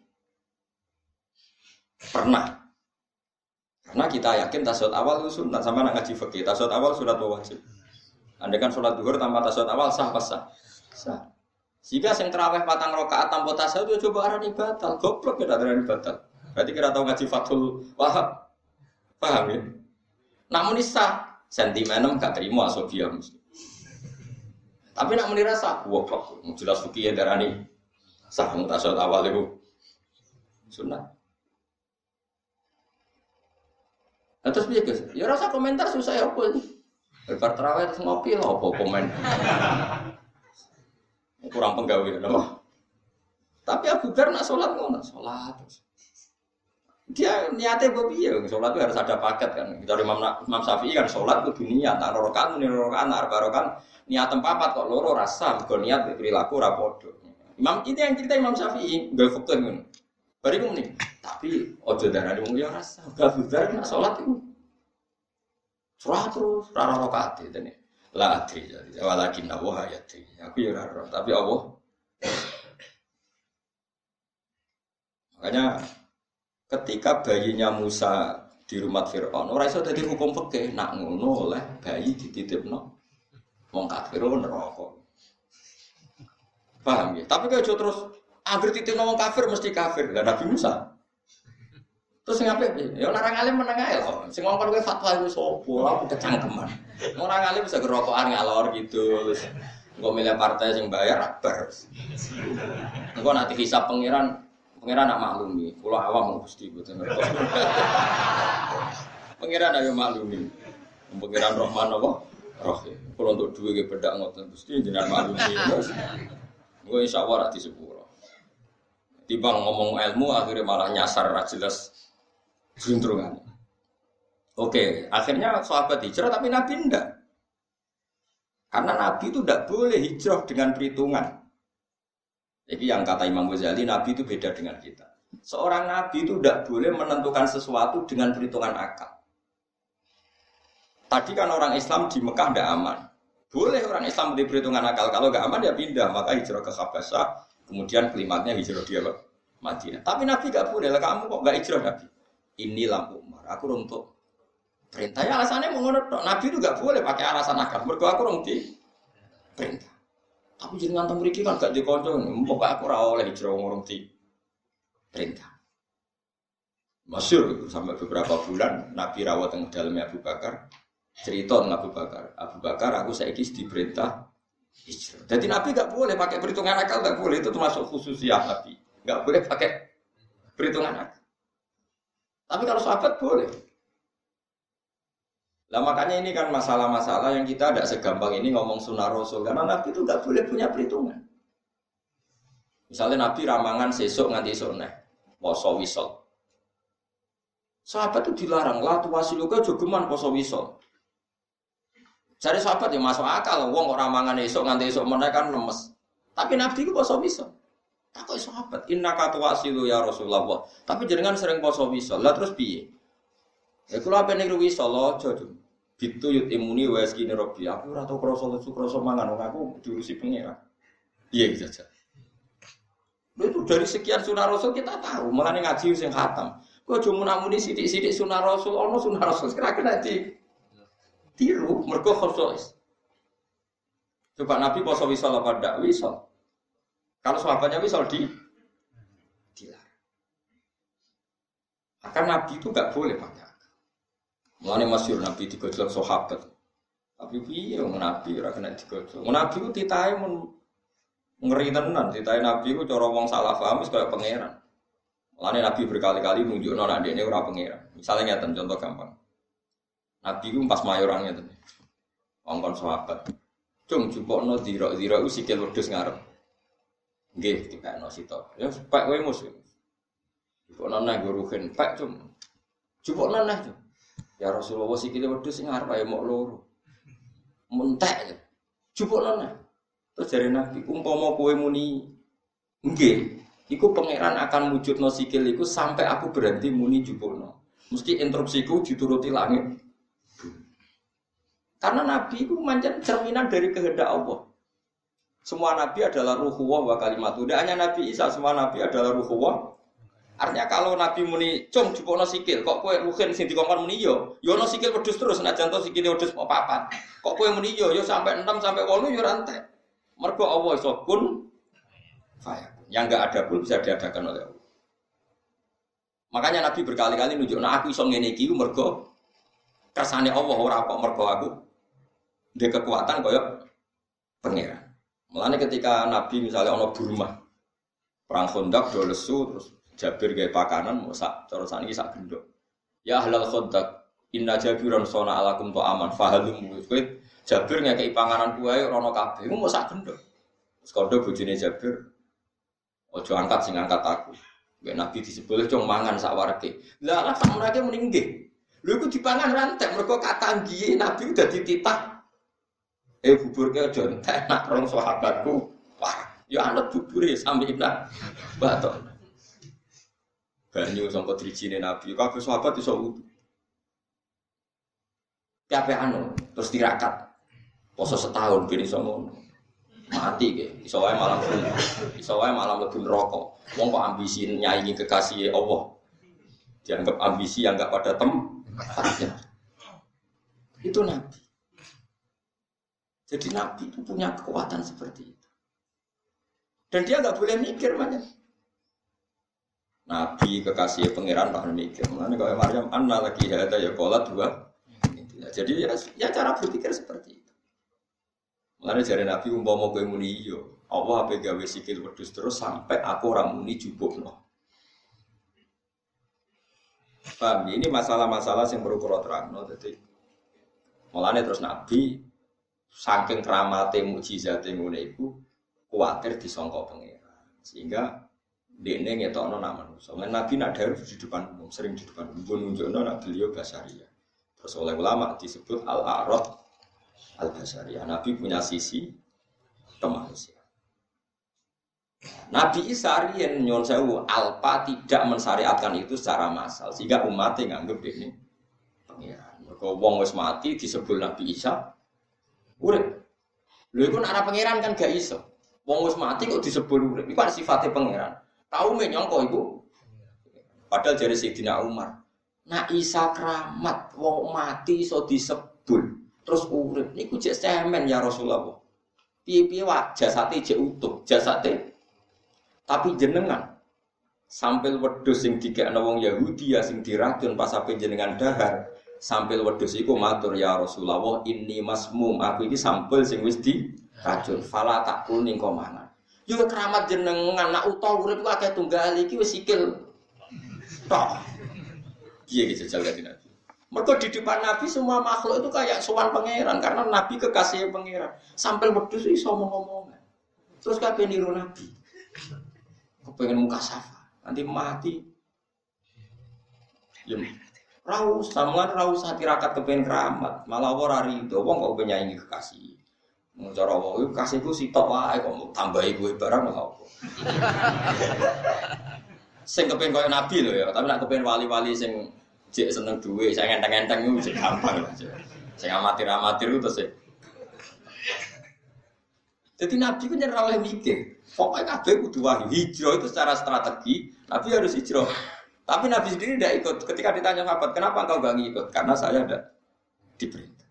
Pernah. Karena kita yakin tasyahud awal itu sunat, sama nak ngaji fikih. Tasyahud awal sunat wajib. Andai kan sholat duhur tanpa tasyahud awal sah pas sah. Sah. Jika sing terawih patang rakaat tanpa tasyahud itu coba arani batal. Goblok ya arani batal. Berarti kira tahu ngaji Fathul Wahab. Paham ya? Namun sah. Sentimenem gak terima asobia mesti. Tapi nak menira sah. Goblok. Jelas fikih ya darani sah tasyahud awal itu sunat. Nah, terus piye Gus? Ya rasa komentar susah ya apa ini. Bar terawih terus ngopi lho apa komen. Kurang penggawe napa? Tapi Abu Bakar nak salat ngono, salat terus. Dia niatnya piye? Salat itu harus ada paket kan. Dari Imam Imam Syafi'i kan salat kudu niat, tak rakaat muni rakaat, tak rakaat niat papat kok loro rasa mergo niat perilaku ora padha. Imam ini yang cerita Imam Syafi'i, nggawe fikih ngono. Bariku muni, tapi ojo darane wong ya rasa, gak budar nak salat iku. Surah terus rara rakaat itu nih. La adri jadi walakin Allah ayati. Aku ya ora, tapi Allah. Makanya ketika bayinya Musa di rumah Firaun, ora iso dadi hukum fikih, nak ngono oleh bayi dititipno wong kafir neraka. Paham ya? Tapi kalau terus Angger titik ngomong kafir mesti kafir. Lah Nabi Musa. Terus ngapain? Ya orang alim meneng ae lho. Sing ngomong kowe fatwa iku sapa? Aku kecangkeman. Orang alim bisa gerokokan ngalor gitu. Terus engko milih partai sing bayar akbar. Engko nanti hisab pangeran, pangeran nak maklumi. Kula awam Gusti mboten ngertos. Pangeran ayo maklumi. Pangeran Rahman apa? Rahim. Kula untuk duwe ge bedak ngoten Gusti jenengan maklumi. Engko insyaallah ra disepuro. Dibang ngomong ilmu akhirnya malah nyasar ra jelas juntrungan. Oke, akhirnya sahabat hijrah tapi Nabi enggak. Karena Nabi itu tidak boleh hijrah dengan perhitungan. Jadi yang kata Imam Ghazali, Nabi itu beda dengan kita. Seorang Nabi itu tidak boleh menentukan sesuatu dengan perhitungan akal. Tadi kan orang Islam di Mekah tidak aman. Boleh orang Islam di perhitungan akal. Kalau nggak aman ya pindah, maka hijrah ke Habasyah. Kemudian kelimatnya hijrah dia ke Madinah. Tapi Nabi gak boleh lah, kamu kok gak hijrah Nabi? Inilah Umar, aku untuk perintahnya alasannya mau ngono. Nabi itu gak boleh pakai alasan akal. Mergo aku rong di perintah. Tapi jenengan teng mriki kan gak dikonco, mbok aku ora oleh hijrah ngurung di perintah. Masyhur sampai beberapa bulan Nabi rawat teng dalamnya Abu Bakar. Cerita teng Abu Bakar. Abu Bakar aku saiki diperintah hijrah. Jadi Nabi nggak boleh pakai perhitungan akal, nggak boleh, itu termasuk khususiyah Nabi. Nggak boleh pakai perhitungan akal. Tapi kalau sahabat boleh. Lah makanya ini kan masalah-masalah yang kita tidak segampang ini ngomong sunnah Rasul. Karena Nabi itu nggak boleh punya perhitungan. Misalnya Nabi ramangan sesuk nganti sore, poso wisol. Sahabat itu dilarang, lah tuwasiluka jogeman poso wisol. Cari sahabat yang masuk akal, wong orang mangan esok nganti esok meneh kan lemes. Tapi Nabi itu poso wisol. Takut sahabat, inna katuwasilu ya Rasulullah. Tapi jenengan sering poso wisol, lah terus piye? Ya kula ape niru wisol aja, Jum. Bitu yut imuni wa eskine robbi. Aku ora tau krasa lesu krasa mangan, wong aku diurusi pengira. Iya gitu aja. Itu dari sekian sunah Rasul kita tahu, mulane ngaji sing khatam. Kok aja munamuni sithik-sithik sunah Rasul, ono sunah Rasul kira-kira di tiru, mergo khusus. Coba Nabi poso wisol apa ndak wisol? Kalau sahabatnya wisol di dilarang. Akan Nabi itu enggak boleh pakai akal. Mulane masyhur Nabi digojlok sahabat. Tapi piye wong Nabi ora kena digojlok. Nabi ku titahe mun ngeri tenan, titahe Nabi ku cara wong salah paham wis kaya pangeran. Mulane Nabi berkali-kali nunjukno nek dekne ora pangeran. Misalnya ngeten contoh gampang. Nabi ku pas mayorane to. Wong-wong sahabat. Cung jupukno dira-dira ku sikil wedhus ngarep. Nggih, dikakno sito. Ya pak kowe mus. Jupuk nana guruhin pak cum. Jupuk nana cum. Ya Rasulullah sikile wedhus sing arep ae mok loro. Mentek. Jupuk nana. Terus jare Nabi, umpama kowe muni nggih, iku pangeran akan wujudno sikil iku sampai aku berhenti muni jupukno. Mesti interupsiku dituruti langit. Karena Nabi itu mancan cerminan dari kehendak Allah. Semua Nabi adalah ruhuwah wa kalimatu. Tidak hanya Nabi Isa, semua Nabi adalah ruhuwah. Artinya kalau Nabi muni cung jupukno sikil, kok kowe ruhin sing dikongkon muni yo, yo ono sikil wedhus terus, nek janto sikile wedhus mau papat. Kok kowe muni yo, yo sampai enam sampai delapan yo rantai. Mergo Allah iso kun fayakun. Yang enggak ada pun bisa diadakan oleh Allah. Makanya Nabi berkali-kali nunjukno aku iso ngene iki mergo kersane Allah ora kok mergo aku ndek kekuatan kaya pangeran. Mulane ketika Nabi misalnya ana Burma perang Khandaq do lesu terus Jabir gawe pakanan mau sak cara sakniki sak gendok. Ya ahlal Khandaq inna Jabiran sona alakum to aman fahalum kowe Jabir ngekeki panganan kuwe rono kabeh, mau sak gendok. Terus kondo bojone Jabir, ojo angkat sing angkat aku. Nek Nabi disebut cung mangan sak wareke. Lah lah sak wareke muni nggih. Lho iku dipangan rantek mergo katanggihe Nabi udah dititah. Eh buburke aja entek nak rong sahabatku. Wah, ya anut bubure sampe iblah. Batok. Banyu sangka drijine Nabi, kabeh sahabat iso wudu. Kabeh anu terus tirakat. Poso setahun ben iso ngono. Mati ke, iso wae malah iso wae malah mlebu neraka. Wong kok ambisi nyaingi kekasih Allah. Dianggap ambisi yang enggak pada tempatnya. Itu Nabi. Jadi Nabi itu punya kekuatan seperti itu. Dan dia enggak boleh mikir banyak. Nabi kekasih pangeran tak mikir. Mulane kok Maryam anna lagi ada ya qolat dua. Jadi ya, ya cara berpikir seperti itu. Mulane jare Nabi umpama kowe muni iya, Allah ape gawe sikil wedhus terus sampai aku ora muni jupukno. Paham? Ini masalah-masalah yang perlu kula terangno dadi. Mulane terus Nabi saking keramate mukjizate ngene iku kuwatir disangka pangeran. Sehingga dekne ngetokno nak manusa. Lan Nabi nak dawuh di depan umum, sering di depan umum nunjukno nak beliau basaria. Terus oleh ulama disebut al-a'rad al-basariyah. Nabi punya sisi kemanusiaan. Nabi Isa riyen nyon sewu alpa tidak mensyariatkan itu secara massal sehingga umatnya nganggep ini pangeran. Mergo wong wis mati disebut Nabi Isa urip. Lha iku nek ora pangeran kan gak iso. Wong wis mati kok disebut urip. Iku sifate pangeran. Tau menyangka iku. Padahal jare Sayyidina Umar, nak Isa keramat wong mati iso disebul terus urip niku jek semen ya Rasulullah. Piye-piye wae jasate jek utuh, jasate. Tapi jenengan sampil wedhus sing dikekno wong Yahudi ya sing diracun pas ape jenengan dahar, sampil wedhus iku matur ya Rasulullah inni masmum, aku iki sampel sing wis diracun. Fala takul ning kok mangan. Yo keramat jenengan nak utuh urip ku akeh tunggal iki wis sikil. Tok. Piye iki jajal kanjeng Nabi. Mergo di depan Nabi semua makhluk itu kayak sowan pangeran karena Nabi kekasih pangeran. Sampai wedhus iso ngomong. Terus kabeh niru Nabi. Kepengen muka safa, nanti mati. Ya. Ra usah sampean ra usah tirakat kepengen keramat, malah ora rido wong kok penyaingi kekasih. Mun cara wong iku kasihku sitok wae kok tambahi kowe barang lho apa. Sing kepengen koyo Nabi lho ya, tapi nek kepengen wali-wali sing jek seneng duwe, saya ngenteng-ngenteng itu jek gampang aja. Saya amatir-amatir itu terus. Jadi Nabi itu nyerah oleh mikir. Pokoknya kabeh kudu wahyu. Hijrah itu secara strategi, Nabi harus hijrah. Tapi Nabi sendiri tidak ikut. Ketika ditanya sahabat, kenapa engkau enggak ngikut? Karena saya ada diperintah.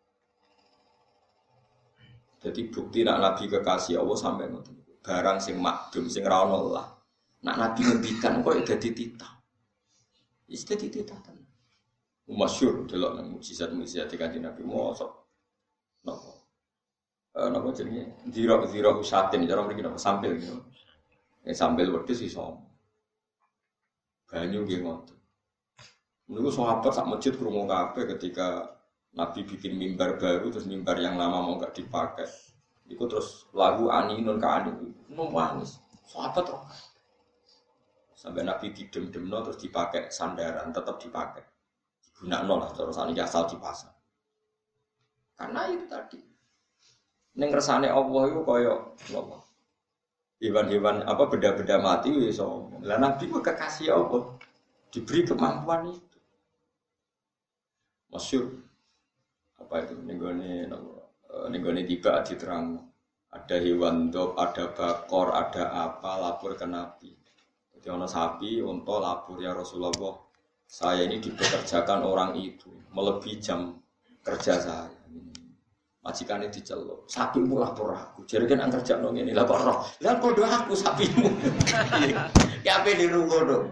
Jadi bukti nak Nabi kekasih Allah sampai ngoten. Barang sing makdum sing ra ono lah. Nak Nabi ngendikan kok dadi titah. Wis dadi titah tenan. Masyhur delok nang mukjizat-mukjizat Kanjeng Nabi mosok. Napa? Eh napa jenenge? Zira-zira usatin cara mriki napa sampil gitu. Ya sampil wedhus iso. Banyu nggih ngoten. Niku sahabat sak masjid krungu kabeh ketika Nabi bikin mimbar baru terus mimbar yang lama mau enggak dipakai. Iku terus lagu aninun ka anin. Nangis. Sahabat roh. Sampai Nabi didem-demno terus dipakai sandaran, tetap dipakai. Gunakno lah terus saniki asal dipasang. Karena itu tadi. Ning kersane Allah iku kaya apa? Hewan-hewan apa benda-benda mati wis iso. Lah Nabi ku kekasih Allah. Diberi kemampuan itu. Masyhur apa itu nenggone nenggone tiba diterang. Ada hewan dop, ada bakor, ada apa lapor ke Nabi. Jadi ono sapi, unta lapor ya Rasulullah. Saya ini dipekerjakan orang itu melebihi jam kerja saya. Majikannya diceluk, sapimu lapor aku. Jadi kan angker kerja nong ini lapor roh. Lah kodo aku sapimu. Ya apa di rumah dong?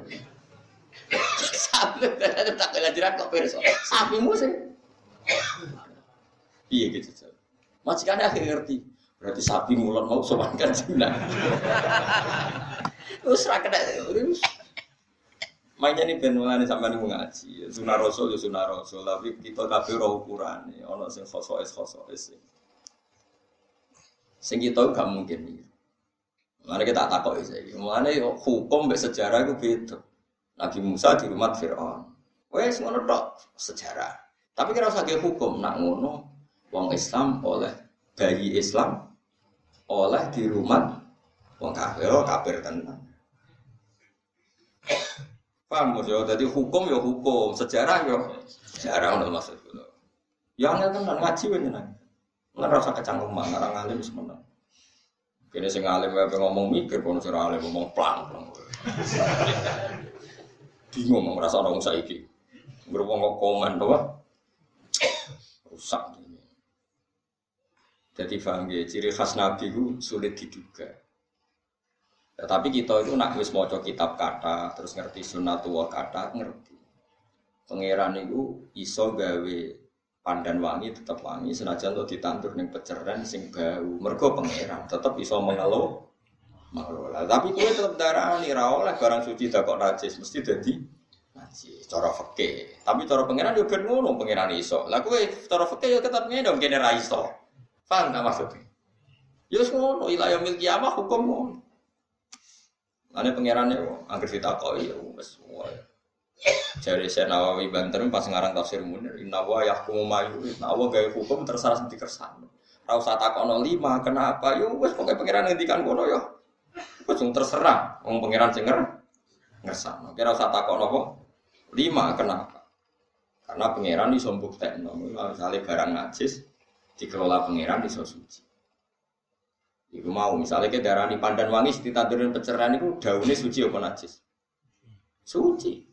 Sapi tak kelajaran kok perso. Sapimu sih. Iya gitu. Majikannya akhirnya ngerti. Berarti sapi mulan mau sopan kan jinak. Terus rakyat terus. Mainnya nih ben mulane sampean ngaji. Sunah Rasul ya sunah Rasul, tapi kita kabeh ora ukurane. Ana sing khosoes-khosoes. Sing kita gak mungkin iki. Mulane kita takoki saiki. Mulane hukum mbek sejarah iku beda. Nabi Musa di rumah Firaun. Wes ngono tok sejarah. Tapi kira usah ge hukum nak ngono wong Islam oleh bayi Islam oleh di rumah wong kafir, kafir tenan. Paham ya, jadi hukum ya hukum, sejarah ya sejarah ngono maksud kula. Ya angel tenan ngaji wae tenan. Ora usah kecangkeman, ora ngalim wis meneng. Kene sing alim wae ngomong mikir kono sing alim ngomong plang-plang. Bingung ora rasa ono saiki. Ngrungok kok komen to, rusak ini. Jadi paham ya, ciri khas Nabi itu sulit diduga. Ya, tapi kita itu nak wis maca kitab kata, terus ngerti sunatullah kata, ngerti. Pangeran itu iso gawe pandan wangi tetap wangi, senajan to ditandur ning peceran sing bau. Mergo pangeran tetap iso mengelola. Mengelola. Tapi kowe tetep darani ra oleh barang suci tak kok najis, mesti dadi najis cara fikih. Tapi cara pangeran yo ben ngono, pangeran iso. Lah kowe cara fikih yo tetep ngene dong kene ra iso. Paham tak maksudnya? Ya ngono, ilayah mil kiamah hukum ngono. Ane pangerane angger ditakoki ya wis wae. Jare Syekh Nawawi Banten pas ngarang tafsir Munir, inna wa yahkumu ma yurid. Nah, Allah gawe hukum terserah sing dikersakno. Ora usah takokno lima, kenapa? Yo wis pokoke pangeran ngendikan ngono yo. Wis terserah wong pangeran sing ngersakno. Kira usah takokno apa? Lima, kenapa? Karena pangeran iso mbuktekno, misale barang najis dikelola pangeran iso suci. Iku mau misalnya ke darani pandan wangi ditandurin peceran itu daunnya suci apa najis? Suci.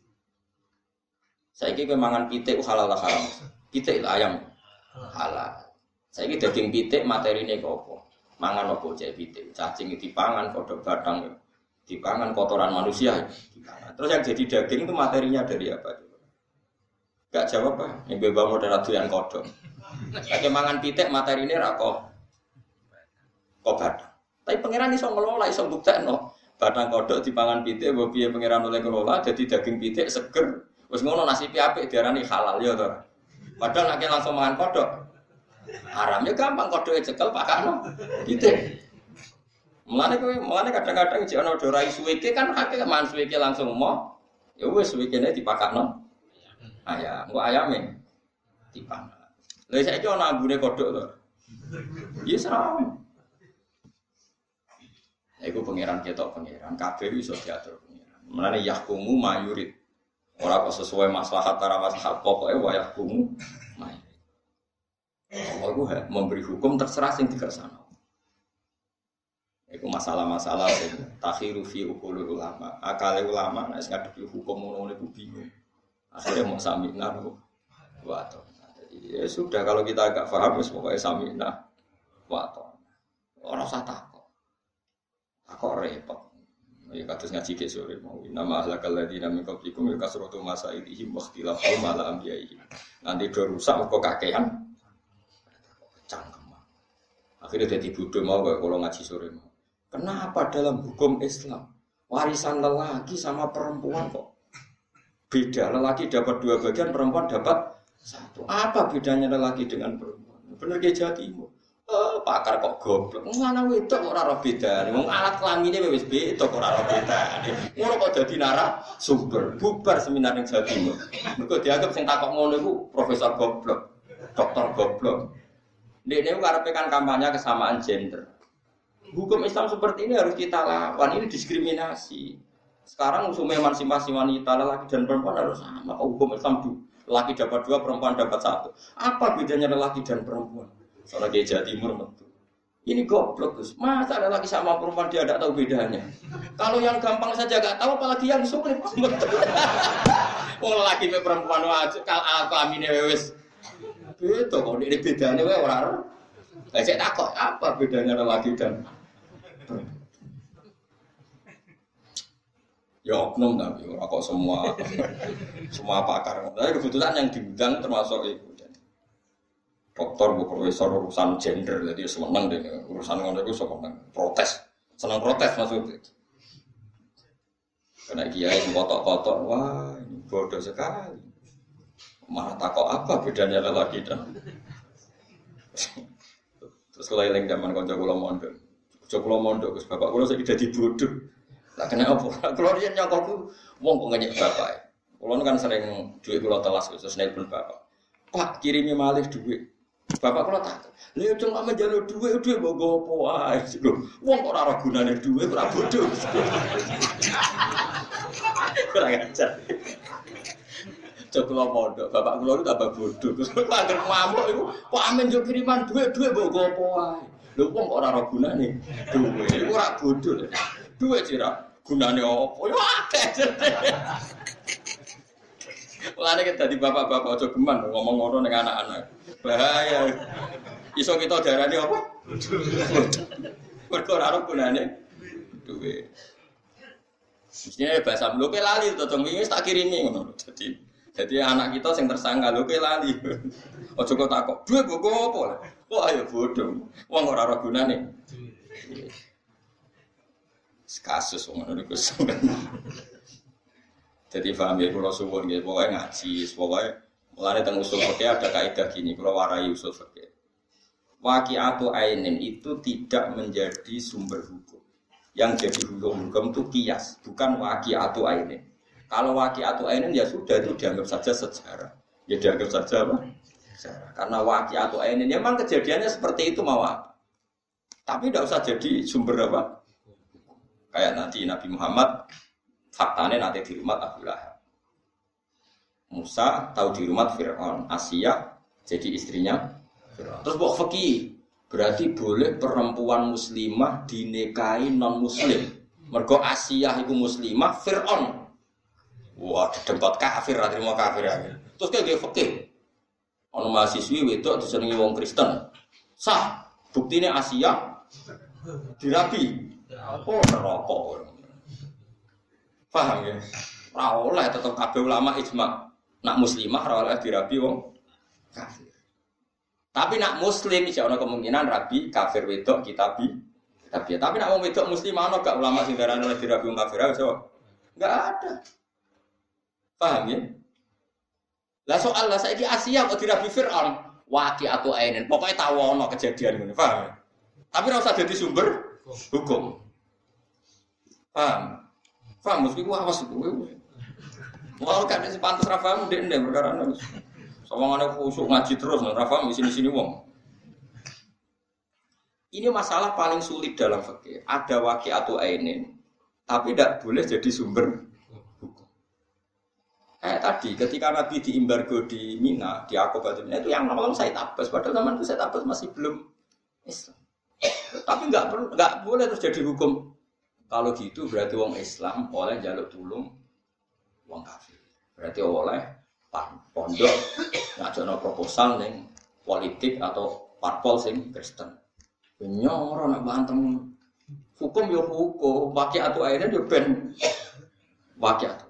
Saiki kowe mangan pitik halal lah haram. Pitik lah ayam halal. Saiki daging pitik materine kok apa? Mangan apa cek pitik? Cacing dipangan, kodok batang dipangan, kotoran manusia dipangan. Terus yang jadi daging itu materinya dari apa? Gak jawab ah. Yang bebas modal doyan kodok. Saiki mangan pitik materine ra kok kok batang. Tapi pangeran iso ngelola, iso mbuktekno. Batang kodok dipangan pitik, mbok piye pangeran oleh ngelola dadi daging pitik seger. Wis ngono nasibe apik diarani halal ya to. Padahal nek langsung mangan kodok haram ya gampang kodoke cekel pakakno pitik. Mulane kowe mulane kadang-kadang jek ana ora suweke kan akeh mangan suweke langsung mau. Ya wis suwekene dipakakno. Ayam, kok ayame dipangan. Lha saiki ana ambune kodok to. Ya saram. Iku pangeran ketok pangeran, kabeh iso diatur pangeran. Mulane yahkumu mayurid. Ora kok sesuai maslahat para maslahat pokoke wa yahkumu mayurid. Allah iku memberi hukum terserah sing dikersakno. Iku masalah-masalah sing takhiru fi uqulul ulama. Akale ulama nek ngadepi hukum ngono niku bingung. Akhirnya mau samina wa to. Jadi ya sudah kalau kita agak paham wis pokoke samina wa to. Ora usah takok. Takok repot. Ya kados ngaji ke sore mau. Nama ahlakal ladina min qablikum ya kasratu masailihim wa ikhtilafahum ala anbiya'ihim. Nanti do rusak kok kakean. Cangkem. Akhirnya dadi bodho mau kalau ngaji sore mau. Kenapa dalam hukum Islam warisan lelaki sama perempuan kok beda? Lelaki dapat dua bagian, perempuan dapat satu. Apa bedanya lelaki dengan perempuan? Benar ke Jawa Timur. Oh, pakar kok goblok. Mana wedok kok ora ora bedane. Wong alat kelamine wis beda kok ora ora bedane. Ngono kok dadi narasumber. Bubar seminar ning Jawa Timur. Mergo dianggap sing takok ngono iku profesor goblok, dokter goblok. Ndekne karepe kan kampanye kesamaan gender. Hukum Islam seperti ini harus kita lawan. Ini diskriminasi. Sekarang usul emansipasi wanita lelaki dan perempuan harus sama. Hukum Islam tuh lelaki dapat dua, perempuan dapat satu. Apa bedanya lelaki dan perempuan? Soalnya kayak Jawa Timur betul. Ini goblok Gus. Masa ada laki sama perempuan dia tidak tahu bedanya? Kalau yang gampang saja nggak tahu, apalagi yang sulit. Oh laki sama perempuan wajib kalau kelaminnya wes. Betul kok ini bedanya wes orang. Saya takut apa bedanya laki dan perempuan? Ya oknum tapi orang kok semua semua pakar. Tapi kebetulan yang diundang termasuk itu. Doktor, bu profesor urusan gender, jadi seneng deh urusan ngono itu seneng protes, seneng protes maksudnya. Karena kiai kotok-kotok, wah ini bodoh sekali. Malah takut apa bedanya lelaki dan terus keliling zaman konco kula mondok, konco kula mondok, Gus bapak kula saiki dadi bodoh. Lah kena apa? Kula riyen nyokokku wong kok ngenyek bapak. Kula kan sering duit kula telas terus nelpon bapak. Pak kirimi malih duit. Bapak kula tak. Lha yo cuma njaluk dhuwit dhuwit mbok opo wae. Wong kok ora ora gunane dhuwit ora bodho. Ora ngajar. Cok kula mondok, bapak kula itu tambah bodho. Terus kok anggere ngamuk iku, kok amen yo kiriman dhuwit-dhuwit mbok opo wae. Lho wong kok ora ora gunane dhuwit. Iku ora bodho. Dhuwit sira gunane opo? Yo akeh. Mulane kita di bapak-bapak aja geman ngomong ngono ning anak-anak. Bahaya. Iso kita darani apa? Mergo ora ono gunane duwe. Mestine bahasa mloke lali to tong wingi tak kirimi ngono. Dadi dadi anak kita sing tersangka lho ke lali. Aja kok takok, "Duwe mbok apa?" Wah ya bodho. Wong ora ora gunane. Kasus ngono niku sampeyan. Jadi paham ya, kalau suwun gitu, pokoknya ngaji, pokoknya mulai tentang usul fikih ada kaidah gini, kalau warai usul fikih. Waqi'atu ainin itu tidak menjadi sumber hukum. Yang jadi hukum-hukum itu kias, bukan waqi'atu ainin. Kalau waqi'atu ainin ya sudah itu dianggap saja sejarah. Ya dianggap saja apa? Sejarah. Karena waqi'atu ainin memang kejadiannya seperti itu mau apa. Tapi tidak usah jadi sumber apa? Kayak nanti Nabi Muhammad faktanya nanti di rumah Abu Lahab. Musa tahu di rumah Fir'aun. Asia jadi istrinya Fir'aun. Terus buat fikih berarti boleh perempuan muslimah dinikahi non muslim. Mergo Asia itu muslimah, Fir'aun. Wah, tempat kafir, terima kafir aja. Terus kayak fikih. Ono mahasiswi wedok disenengi wong Kristen. Sah, buktinya Asia dirabi. Oh, neraka. Paham ya? Ora oleh tetep kabeh ulama ijma. Nak muslimah ora oleh dirabi wong kafir. Tapi nak muslim iso ana kemungkinan rabi kafir wedok kitabi. Tapi tapi nak wong wedok muslimah ana gak ulama sing darane oleh dirabi wong kafir iso? Enggak ada. Paham ya? Lah soal lah saiki Asia kok dirabi Fir'aun, waqi'atu ainin. Pokoke tahu ana kejadian ngene, paham? Tapi ora usah dadi sumber hukum. Paham? Paham, mesti gua awas itu. Mau kan si pantas Rafael ndek ndek perkara nang. Sawangane khusuk ngaji terus nang Rafael di sini-sini wong. Ini masalah paling sulit dalam fikih. Ada waqi'atu ainin, tapi tidak boleh jadi sumber hukum. Kayak tadi, ketika Nabi diembargo di Mina, di Aqabah itu yang nolong Said Abbas. Padahal zaman itu Said Abbas masih belum Islam. Tapi nggak perlu, nggak boleh terus jadi hukum. Kalau gitu berarti wong Islam oleh jaluk tulung wong kafir. Berarti oleh pondok ngajono proposal ning politik atau parpol sing Kristen. Nyoro nak bantem hukum yo hukum, waqi'atu ainin yo ben waqi'atu.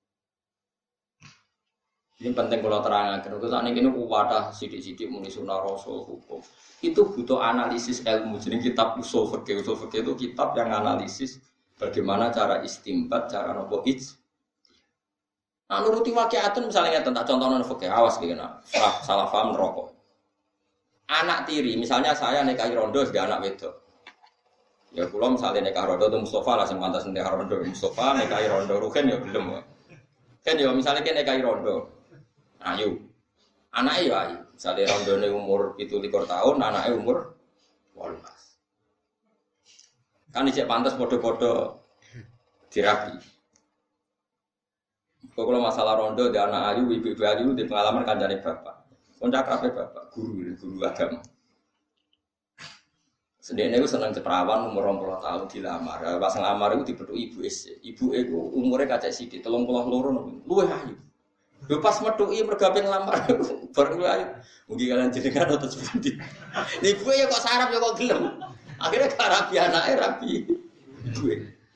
Ini penting kalau terangkan. Kalau saat ini kuwata sidik-sidik muni sunah rasul hukum. Itu butuh analisis ilmu. Jadi kitab usul fikih, usul fikih itu kitab yang analisis bagaimana cara istimbat, cara nopo ij. Nah, nuruti waqi'atun misalnya tentang contohnya fikih awas gini, salah paham rokok. anak tiri, misalnya saya nikahi rondo sebagai anak wedok. Ya kula misalnya nikah rondo itu Mustafa lah sing pantas nikah rondo. Mustafa nikahi rondo Ruhin ya belum. Kan ya misalnya kita nikahi rondo. Ayu. Anake ya ayu. Misale rondone umur tujuh likur tahun, anake umur delapan belas. Kan isih pantas padha-padha dirabi. Kalau masalah rondo di anak ayu, ibu-ibu ayu di pengalaman kancane bapak. Kontak kabeh bapak, guru, guru agama. Sedene iku seneng ceperawan umur rong puluh tahun dilamar. Pas ngelamar iku dipethuk ibu es. Ibu iku umure kacek sithik, telung puluh loro luwih ayu. Lho pas methuki mergawe ngelamar bareng luwih ayu. Mugi kalian jenengan atau sepundi. Ibu ya kok sarap ya kok gelem. Akhirnya gak rabi anake rabi ibu.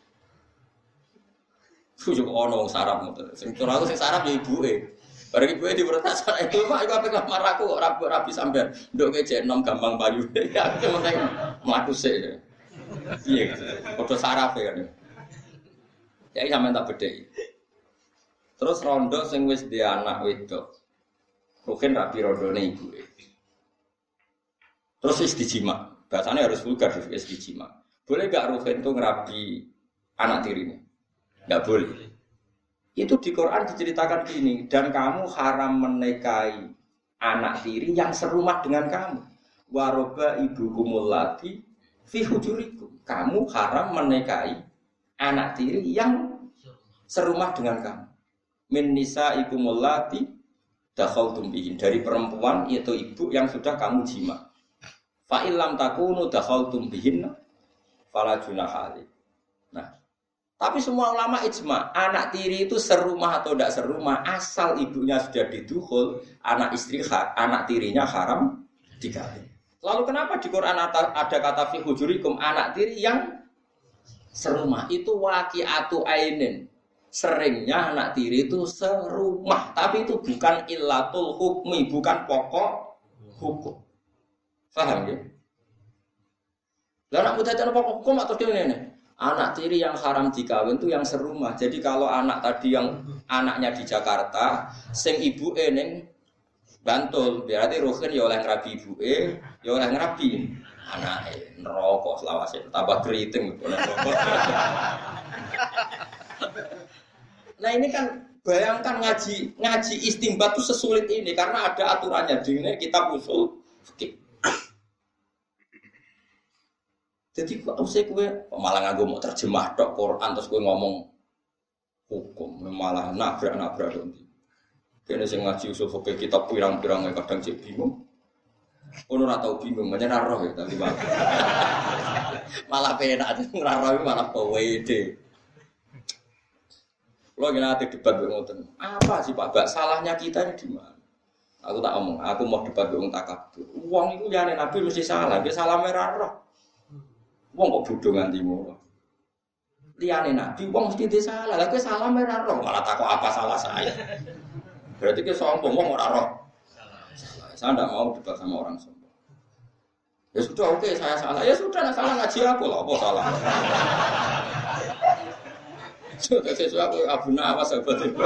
Sujuk ono wong sarap ngoten. Sing ora aku sing sarap ya ibuke. Bareng ibuke diprotes ana ibu Pak iku ape ngelamar aku kok rabi rabi sampean. Nduk kece enom gampang payu. Ya penting mlaku sik. Piye gitu. Padha sarape kan. Ya sampean tak bedheki. Terus rondo sing wis duwe anak wedok. Mungkin rabi rondone ibuke. Terus wis dijima. Bahasanya harus vulgar wis dijima. Boleh gak Ruhin itu ngerabi anak tirinya? Enggak boleh. Itu di Quran diceritakan gini, dan kamu haram menikahi anak tiri yang serumah dengan kamu. Waroba ibukumul lati fi hujurikum. Kamu haram menikahi anak tiri yang serumah dengan kamu. Min nisa ikumul lati dakhaltum bihin, dari perempuan yaitu ibu yang sudah kamu jima. Fa illam takunu dakhaltum bihin fala junaha alaikum. Nah, tapi semua ulama ijma, anak tiri itu serumah atau tidak serumah, asal ibunya sudah didukhul, anak istri anak tirinya haram dikawin. Lalu kenapa di Quran ada kata fi hujurikum anak tiri yang serumah? Itu waqi'atu ainin. Seringnya anak tiri itu serumah, tapi itu bukan illatul hukmi, bukan pokok hukum. Paham ya? Lah anak muda itu pokok hukum atau gimana? Anak tiri yang haram dikawin itu yang serumah. Jadi kalau anak tadi yang anaknya di Jakarta, sing ibu eneng Bantul, berarti Ruhin ya oleh ngerabi ibu e, ya oleh ngerabi anak e, neraka selawase, tambah keriting neraka. Nah ini kan bayangkan ngaji ngaji istimbat itu sesulit ini karena ada aturannya di kitab usul fikih. Jadi kok usah kowe malah nganggo mau terjemah tok Quran terus kowe ngomong hukum malah nabrak-nabrak ndi. Kene sing ngaji usul fikih kitab pirang-pirang kadang cek bingung. Ono ora tau bingung, menyen ora roh ya tapi malah. Malah penak ora roh malah pede. Lo gina ati debat ngoten. Apa sih Pak Bak salahnya kita ini di mana? Aku tak omong, aku mau debat wong takabur. Wong iku liyane nabi mesti salah, dia salah merah roh. Wong kok bodho nganti ngono. Liyane nabi wong mesti disalah. Lah kowe salah merah roh, malah takok apa salah saya. Berarti ke sombong wong ora roh. Salah. Saya enggak mau debat sama orang sombong. Ya sudah oke, okay, saya salah. Ya sudah, nah, salah ngaji aku lah, apa salah. Sudah sesuatu Abu Nawas sahabat itu.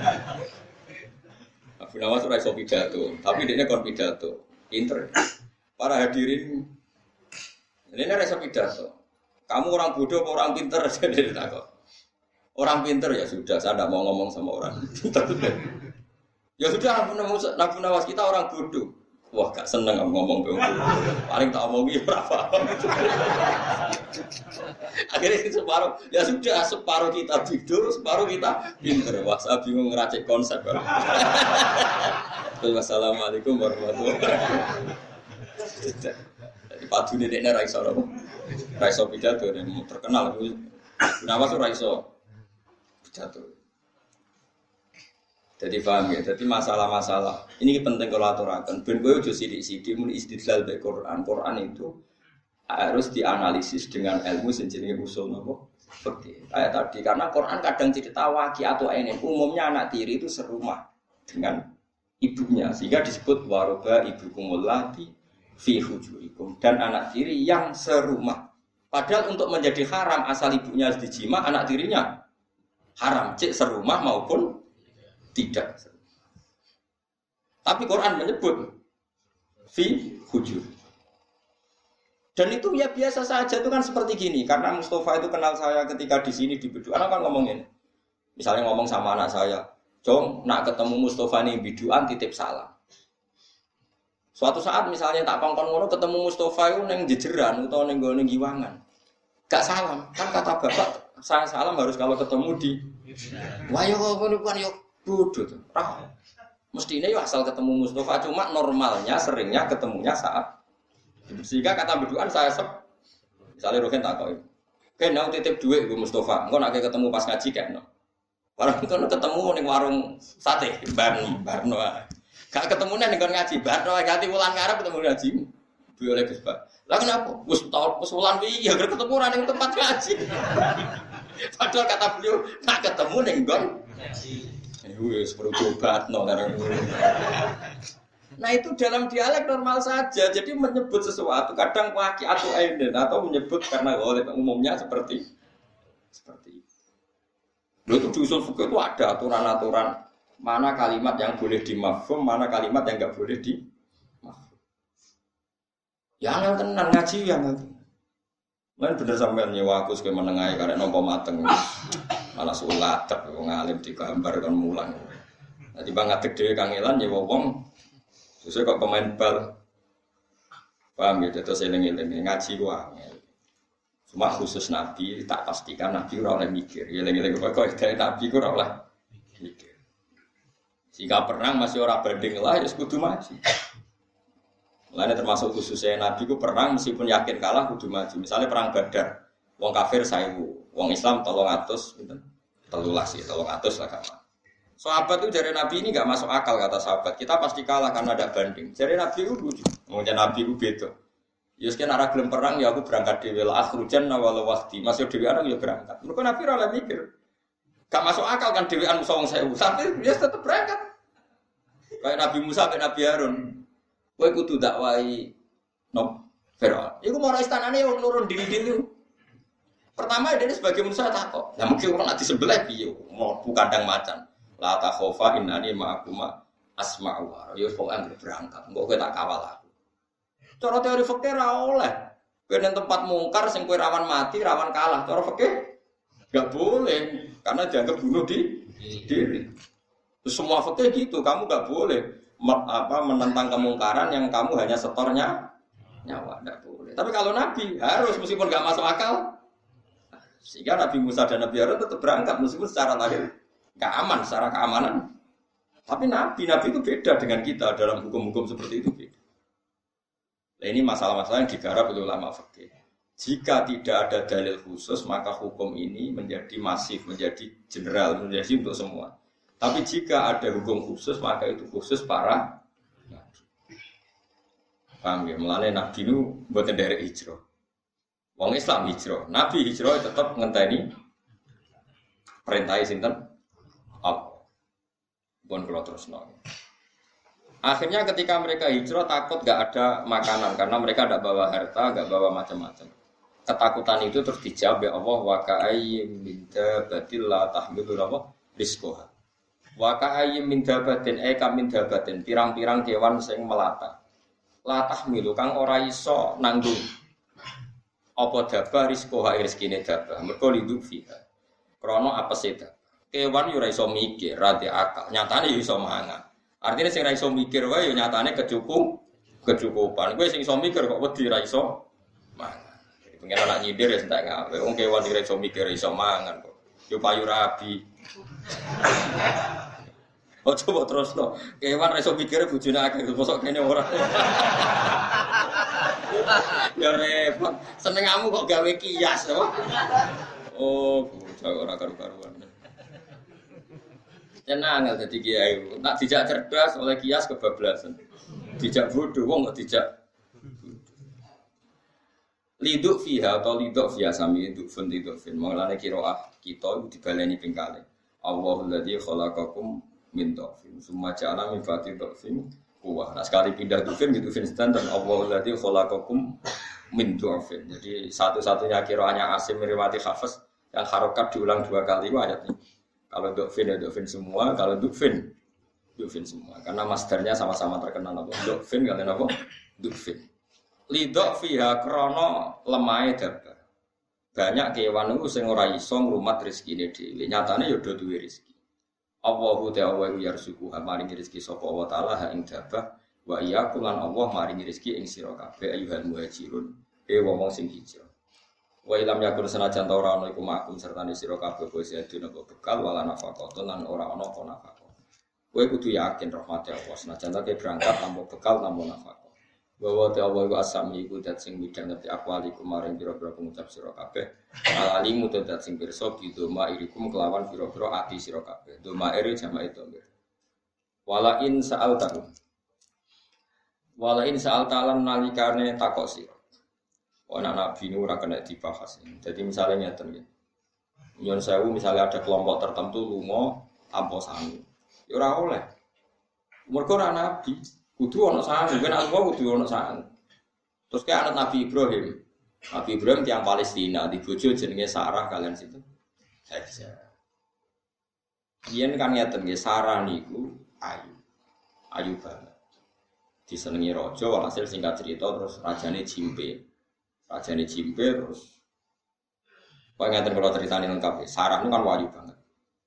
Abu Nawas ora iso pidato, tapi dia kon pidato. Pinter. Para hadirin ini ora iso pidato. Kamu orang bodoh apa orang pinter jadi takut. Orang pinter ya sudah, saya tidak mau ngomong sama orang pinter. Ya sudah, Abu Nawas kita orang bodoh. Wah, gak seneng aku ngomong bodoh. Paling tak omongi berapa. Akhirnya separuh, ya sudah separuh kita tidur, separuh kita pinter. Wah, saya bingung ngeracik konsep. Wassalamualaikum warahmatullahi wabarakatuh. Padu ini dia raiso loh, raiso pidato dan terkenal. Nawas raiso pidato. Jadi paham ya. Jadi masalah-masalah ini penting kalau aturakan. Ben kowe ojo sithik-sithik mun istidlal be Quran. Quran itu harus dianalisis dengan ilmu sing jenenge usul napa fikih. Kayak tadi karena Quran kadang cerita waqi atau ainin. Umumnya anak tiri itu serumah dengan ibunya sehingga disebut waroba ibukumul lati fi hujurikum, dan anak tiri yang serumah. Padahal untuk menjadi haram asal ibunya dijima, anak tirinya haram cek serumah maupun tidak. Tapi Quran menyebut fi hujur. Dan itu ya biasa saja, itu kan seperti gini. Karena Mustafa itu kenal saya ketika di sini di Beduan, kan ngomongin. Misalnya ngomong sama anak saya, "Jong, nak ketemu Mustafa nih Beduan titip salam." Suatu saat misalnya tak kongkon ngono ketemu Mustafa itu neng jejeran atau neng neng giwangan. Gak salam. Kan kata bapak, saya salam harus kalau ketemu di wah yo ngono kan yo bodoh tuh. Ah. Mestinya yo asal ketemu Mustafa, cuma normalnya seringnya ketemunya saat sehingga kata Beduan saya sep misalnya Rohin tak kau kan mau titip duit gue Mustafa engkau nak ketemu pas ngaji kan no warung itu ketemu ning warung sate barno barno gak ketemu ning ngaji barno ganti wulan ngarep ketemu ngaji duwe oleh Gus Pak lah kenapa wis tau wis wulan wi ya ketemu ora ning tempat ngaji padahal kata beliau nak ketemu ning nggon ngaji wis perlu obatno karena nah itu dalam dialek normal saja. Jadi menyebut sesuatu kadang waki atau aiden atau menyebut karena oleh umumnya seperti seperti itu. Lalu itu di usul fikih itu ada aturan-aturan mana kalimat yang boleh dimafhum, mana kalimat yang enggak boleh dimafhum. Ya angel tenan ngaji ya ngaji. Lan bener sampean nyewa aku sing menengahi karek nampa mateng. Malah sulat tak ngalim digambar kon mulang. Dadi bang ngadeg dhewe kangelan nyewa wong terus kok pemain bal, paham ya? Terus eling-eling ngaji gua. Cuma khusus Nabi tak pastikan Nabi ora oleh mikir. Eling-eling kok dari Nabi ku ora oleh mikir. Jika perang masih ora banding lah, ya kudu maju. Mulane termasuk khususnya Nabi ku perang meskipun yakin kalah kudu maju. Misalnya perang Badar, wong kafir seribu, wong Islam tolong atus, pinten? telulas ya, tolong atus lah kapan. Sahabat itu dari Nabi ini enggak masuk akal kata sahabat. Kita pasti kalah karena ada banding. Dari Nabi itu lucu. Ngomongnya Nabi itu beda. Ya sekian arah gelem perang ya aku berangkat dhewe la akhrujan nawal waqti. Masih dhewean ya berangkat. Mergo Nabi ora mikir. Gak masuk akal kan dhewean musuh wong sewu. Tapi dia tetap berangkat. Kayak Nabi Musa sampai Nabi Harun. Kowe kudu dakwahi no Firaun. Iku mau istanane wong nurun diri-diri. Pertama dia sebagai Musa takok. Lah mungkin orang nanti sebelah piye mau kandang macan. La ta khofa innani ma'akuma asma'u wa ya pokoke berangkat engko kowe tak kawal aku. Cara teori fikih ra oleh. Kowe nang tempat mungkar sing kowe rawan mati, rawan kalah. Cara fikih enggak boleh karena dianggap bunuh di diri. Terus semua fikih gitu, kamu enggak boleh apa menentang kemungkaran yang kamu hanya setornya nyawa, enggak boleh. Tapi kalau Nabi harus meskipun enggak masuk akal. Sehingga Nabi Musa dan Nabi Harun tetap berangkat meskipun secara lahir gak aman secara keamanan. Tapi Nabi, Nabi itu beda dengan kita dalam hukum-hukum seperti itu beda. Nah, ini masalah-masalah yang digarap oleh ulama fikih. Jika tidak ada dalil khusus, maka hukum ini menjadi masif, menjadi general, menjadi untuk semua. Tapi jika ada hukum khusus, maka itu khusus para Nabi. Paham ya? Mulanya Nabi itu buatan dari hijrah. Wong Islam hijrah. Nabi hijrah tetap ngenteni perintah sinten apa? Bukan kalau terus nol. Akhirnya ketika mereka hijrah takut gak ada makanan karena mereka tidak bawa harta, gak bawa macam-macam. Ketakutan itu terus dijawab ya Allah wa ka'ayyim min dabatin la tahmilu apa rizqaha. Wa ka'ayyim min dabatin e kam min dabatin pirang-pirang kewan sing melata. La tahmilu kang ora iso nanggung. Apa dabah rizqaha rezekine dabah. Mergo liduk fiha. Krana apese kewan yo ora iso mikir, ra di akal. Nyatane yo iso mangan. Artinya sing ra iso mikir wae yo nyatane kecukup, kecukupan. Kowe sing iso mikir kok wedi ra iso mangan. Jadi pengen anak nyindir ya entek ngawe. Wong kewan ora iso mikir iso mangan kok. Yo payu rabi. Oh coba terus to. Kewan ra iso mikir bojone akeh mosok kene ora. Ya repot. Senengamu kok gawe kias to. Oh, bocah ora karu-karuan. Tenang enggak jadi kiai. Nak dijak cerdas oleh kias kebablasan. Dijak bodoh wong kok dijak. Liduk fiha atau liduk fiha sami liduk fun liduk fin. Mengalane qiraah kita iku dibaleni ping kalih. Allahul ladzi khalaqakum min dhafin. Summa ja'ala min ba'di dhafin quwwah. Nah sekali pindah dhafin gitu fin standar Allahul ladzi khalaqakum min dhafin. Jadi satu-satunya qiraahnya Asim riwayat Hafiz yang harokat diulang dua kali itu ayatnya. Kalau dokfin ya dokfin semua, kalau dokfin Dukfin semua. Karena masdarnya sama-sama terkenal apa? Dukfin kalian apa? Dukfin. Lidok fiha krono lemai dabar. Banyak kewan itu sing ora iso ngrumat rezekine dhewe. Nyatane ya do duwe rezeki. Allahu ta'ala wa yarzuqu maringi rezeki sapa wa ta'ala ha ing dabah wa iyyakum lan Allah maringi rezeki ing sira kabeh ayyuhal muhajirun. E wong sing hijrah. Wa ilam yakun senajan ta ora ana iku makum sertane sira kabeh bose dina bekal wala nafaqah lan ora ana apa nafaqah. Kowe kudu yakin rahmat Allah senajan ta berangkat tanpa bekal tanpa nafaqah. Bahwa te Allah iku asami iku dat sing midhang ngerti akwalikum maring pira-pira pengucap sira kabeh. Alalimu te dat sing pirsa bidoma irikum kelawan pira-pira ati sira kabeh. Doma iri jamae domir. Wala in sa'altahu. Wala in sa'altalan nalikane takok sira. Ana nabi nu ora kena dibahas. Jadi misalnya ngeten nggih. Nyon sewu misalnya ada kelompok tertentu lunga tanpa sangu. Ya ora oleh. Mergo ora nabi. Kudu ana sangu, ben Allah kudu ana sangu. Terus kayak anak Nabi Ibrahim. Nabi Ibrahim tiyang Palestina, di bojo jenenge Sarah kalian situ. Hajar. Yen kan ngeten nggih Sarah niku ayu. Ayu banget. Disenengi raja walhasil singkat cerita terus rajane jimpe. Rajane jimpe terus kok ngeten kula critani lengkap. Sarah niku kan ayu banget.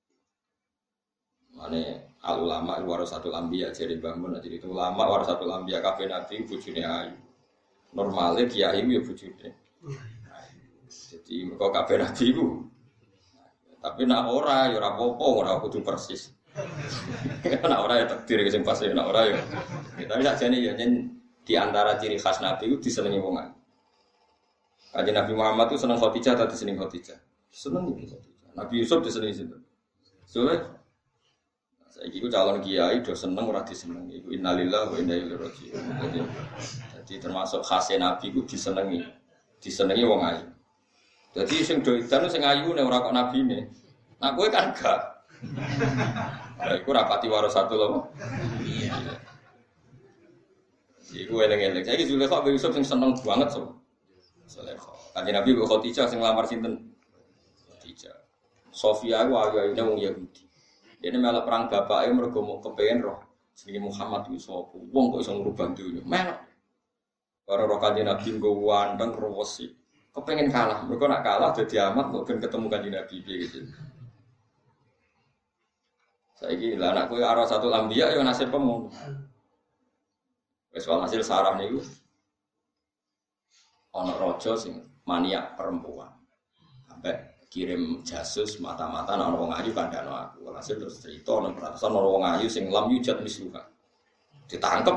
Mane al ulama warasatul anbiya jadi bangun jadi itu ulama warasatul anbiya kabeh nabi bojone ayu. Normale kiai ya bojone. Jadi mergo kabeh nabi iku. Tapi nek ora ya ora apa-apa ora kudu persis. Nek ora ya takdir sing pas nek ora ya. Tapi sakjane ya di antara ciri khas nabi itu disenengi wong ayu. Kanjeng Nabi Muhammad itu seneng Khadijah atau disenengi Khadijah? Seneng iki Khadijah. Nabi Yusuf disenengi sinten? Soale saiki ku calon kiai do seneng ora disenengi. Iku innalillahi wa inna ilaihi raji'un. Jadi, jadi termasuk khas nabi ku disenengi. Disenengi wong ayu. Jadi sing do edan sing ayu nek ora kok nabine. Nah kowe kan gak. Lah iku rapati warasatul apa? Iya. Iku eleng-eleng. Saiki Zulaikha bin Yusuf sing seneng banget so. Zulaikha. Kanjeng Nabi kok Khadijah sing lamar sinten? Khadijah. Sofia ku ayu-ayune wong Yahudi. Dene melok perang bapake mergo mau kepengin roh jenenge Muhammad iki sapa. Wong kok iso ngrubah dunya. Melok. Para roh Kanjeng Nabi nggo wandeng rewesi. Kepengin kalah. Mergo nak kalah dadi amat kok ben ketemu Kanjeng Nabi piye gitu. Saiki lah anak kowe arah satu lambiya ya nasib pemu. Wis walhasil Sarah niku ana raja sing maniak perempuan. Sampai kirim jasus mata-mata ana wong ayu kandhano aku. Hasil terus cerita ana perasaan ana wong ayu sing lam yujat misluha. Ditangkep.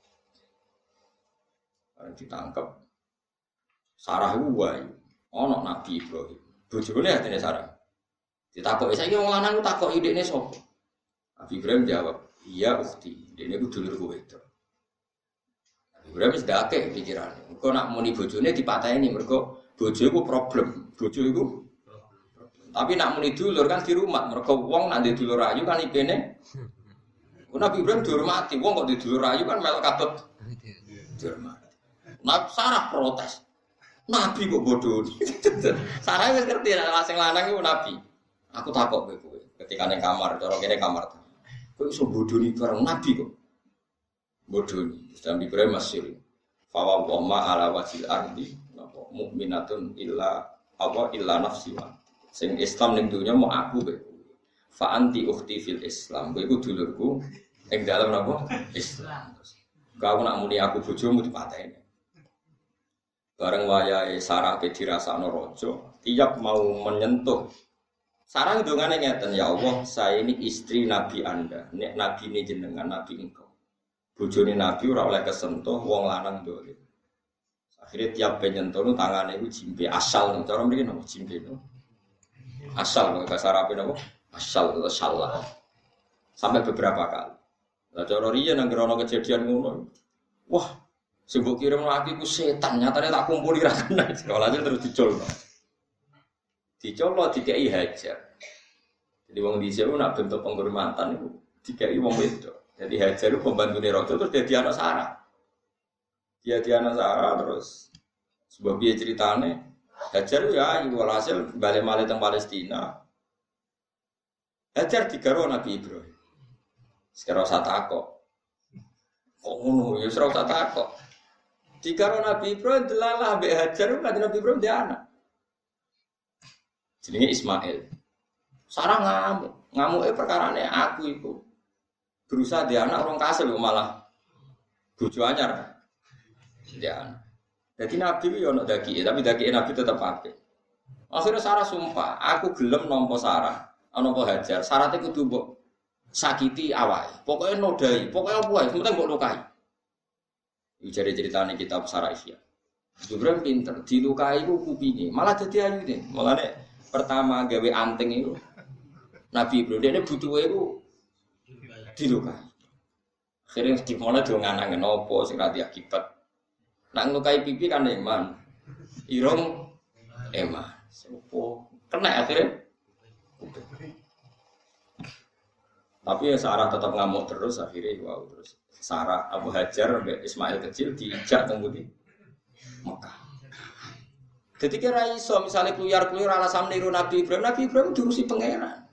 Bareng ditangkep. Sarah ku wae ana Nabi Ibrahim. Bojone atine Sarah. Ditakoki saiki wong lanang ku takoki idekne sapa? Nabi Ibrahim jawab, "Iya ukhti, dene ku dulurku wedok." Nabi Ibrahim wis dake pikirane. Engko nak muni bojone dipateni mergo bojo iku problem. Bojo iku tapi nak muni dulur kan dirumat, mergo wong nak ndek dulur ayu kan ipene. Nabi Ibrahim dihormati, wong kok ndek dulur ayu kan melok kabeh. Dihormati. Nabi Sarah protes. Nabi kok bodoh. Sarah wis ngerti nek sing lanang iku nabi. Aku takok kowe kowe ketika ning kamar, cara kene kamar. Kowe iso bodoni bareng nabi kok. Bodoni. Nabi Ibrahim masih fa wa ma ala wajil ardi napa mukminatun illa apa illa nafsi wa sing Islam ning dunya mau aku kowe. Fa anti ukhti fil Islam. Kowe iku dulurku ing dalem napa? Islam. Kau nak muni aku bojomu dipateni. Bareng wayahe Sarah pe dirasakno raja, tiap mau menyentuh. Sarah ndongane ngeten, ya Allah, saya ini istri Nabi Anda. Nek nabi ini jenengan nabi engkau. Bojone nabi ora oleh kesentuh wong lanang dolim. Akhire tiap penyentuh nu tangane iku jimpe asal, cara mriki napa jimpe no. Asal bahasa Arab napa? Asal atau salah. Sampai beberapa kali. Lah cara riyen nang ana kejadian ngono. Wah, sing mbok kirim lagi ku setan, nyatane tak kumpuli ra kena. Sekolahnya terus dicolno. Dicolno dikai hajar. Jadi wong dhisik ku nak bentuk penghormatan iku dikai wong wedok. Jadi hajar itu pembantune raja terus dadi anak Sarah. Dia di anak Sarah terus sebab piye ceritane? Hajar ya iku hasil bali-bali teng Palestina. Hajar digaro Nabi Ibrahim. Sekarang usah takok. Kok ngono ya ora usah takok. Dikaro Nabi Ibrahim delalah mbek Hajar kan Nabi Ibrahim dia anak. Jenenge Ismail. Sarah ngamuk. Ngamuke perkarane aku iku. Berusaha dia anak orang kasil malah bojo anyar. Dia anak. Jadi Nabi itu ya ono dagike, tapi dagike Nabi tetap apik. Akhirnya Sarah sumpah, aku gelem nampa Sarah, nampa Hajar. Syaratnya kudu mbok sakiti awake. Pokoke nodai, pokoke apa wae, penting mbok lukai. Iki jare ceritane kitab Sarah Ihya. Ibrahim pinter, dilukai ku kupinge, malah dadi ayu deh. Mulane pertama gawe anting itu Nabi Ibrahim dene butuhe iku dilukai. Akhirnya dimana do nganangen apa sing ra akibat. Nak ngelukai pipi kan eman, irung eman, sepo kena akhirnya. Tapi ya Sarah tetap ngamuk terus akhirnya wow terus Sarah Abu Hajar Ismail kecil diijak kemudian Mekah. Jadi kira iso misalnya keluyar-keluyar alasan niru Nabi Ibrahim, Nabi Ibrahim diurusi pangeran.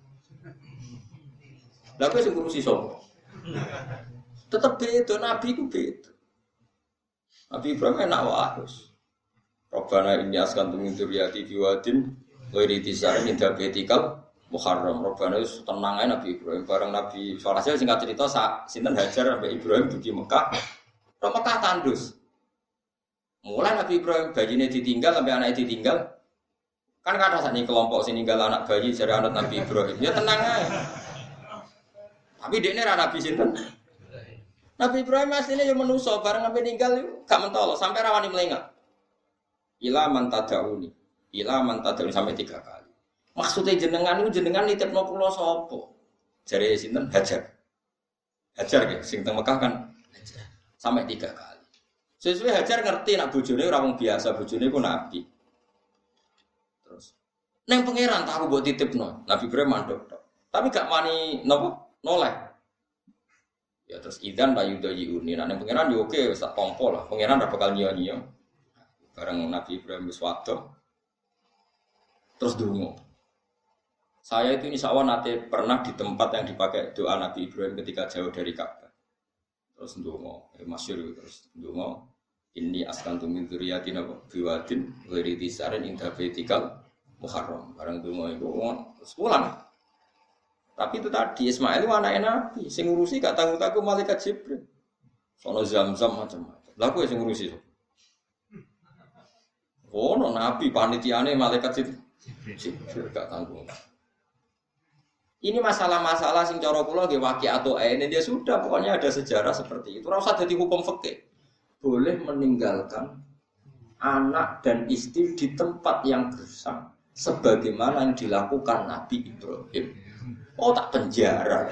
Lah kowe sing ngurusi sapa? Tetep beda Nabi ku beda. Nabi Ibrahim enak wae. Robbana inni askantu min dzurriyyati biwadin ghairi tisar min dabetikal muharram. Robbana wis tenang ae Nabi Ibrahim bareng Nabi Saleh singkat cerita sinten Hajar sampai Ibrahim dugi Mekah. Ro Mekah tandus. Mulai Nabi Ibrahim bayine ditinggal sampai anaknya ditinggal. Kan kata sakniki kelompok sing ninggal anak bayi jare anak Nabi Ibrahim. Ya tenang ae. Tapi dekne ra Nabi sinten? Nabi Ibrahim aslinya yang menuso bareng sampai ninggal itu gak mentolo sampai rawani melengak. Ila man tadauni, ila man tadauni sampai tiga kali. Maksudnya jenengan itu jenengan nitipno kula sapa? Jare sinten Hajar. Hajar nggih sing teng Mekah kan Hajar. Sampai tiga kali. Sesuai Hajar ngerti nak bojone ora wong biasa, bojone ku nabi. Terus neng pangeran tak aku mbok titipno. Nabi Ibrahim mandek tok. Tapi gak wani napa? Noleh. Ya terus idan la yudayiuni. Nah ning pangeran yo oke wis tak tompo lah. Pangeran ora bakal nyiyo-nyiyo. Bareng Nabi Ibrahim wis wadoh. Terus dungo. Saya itu insyaallah nate pernah di tempat yang dipakai doa Nabi Ibrahim ketika jauh dari Ka'bah. Terus dungo, eh, masyhur terus dungo. Inni askantu min dzurriyyatin biwadin ghairi tisarin inda baitikal muharram. Bareng dungo iku terus pulang. Tapi itu tadi Ismail itu anaknya Nabi, sing ngurusi gak tanggung-tanggung malaikat Jibril. Sono Zam-Zam macam-macam. Lah kowe sing ngurusi. Oh, no Nabi panitiane malaikat Jibril gak tanggung. Ini masalah-masalah sing cara kula nggih waqi'atu ain dia sudah pokoknya ada sejarah seperti itu. Ora usah dadi hukum fikih. Boleh meninggalkan anak dan istri di tempat yang gersang sebagaimana yang dilakukan Nabi Ibrahim. Oh tak penjara.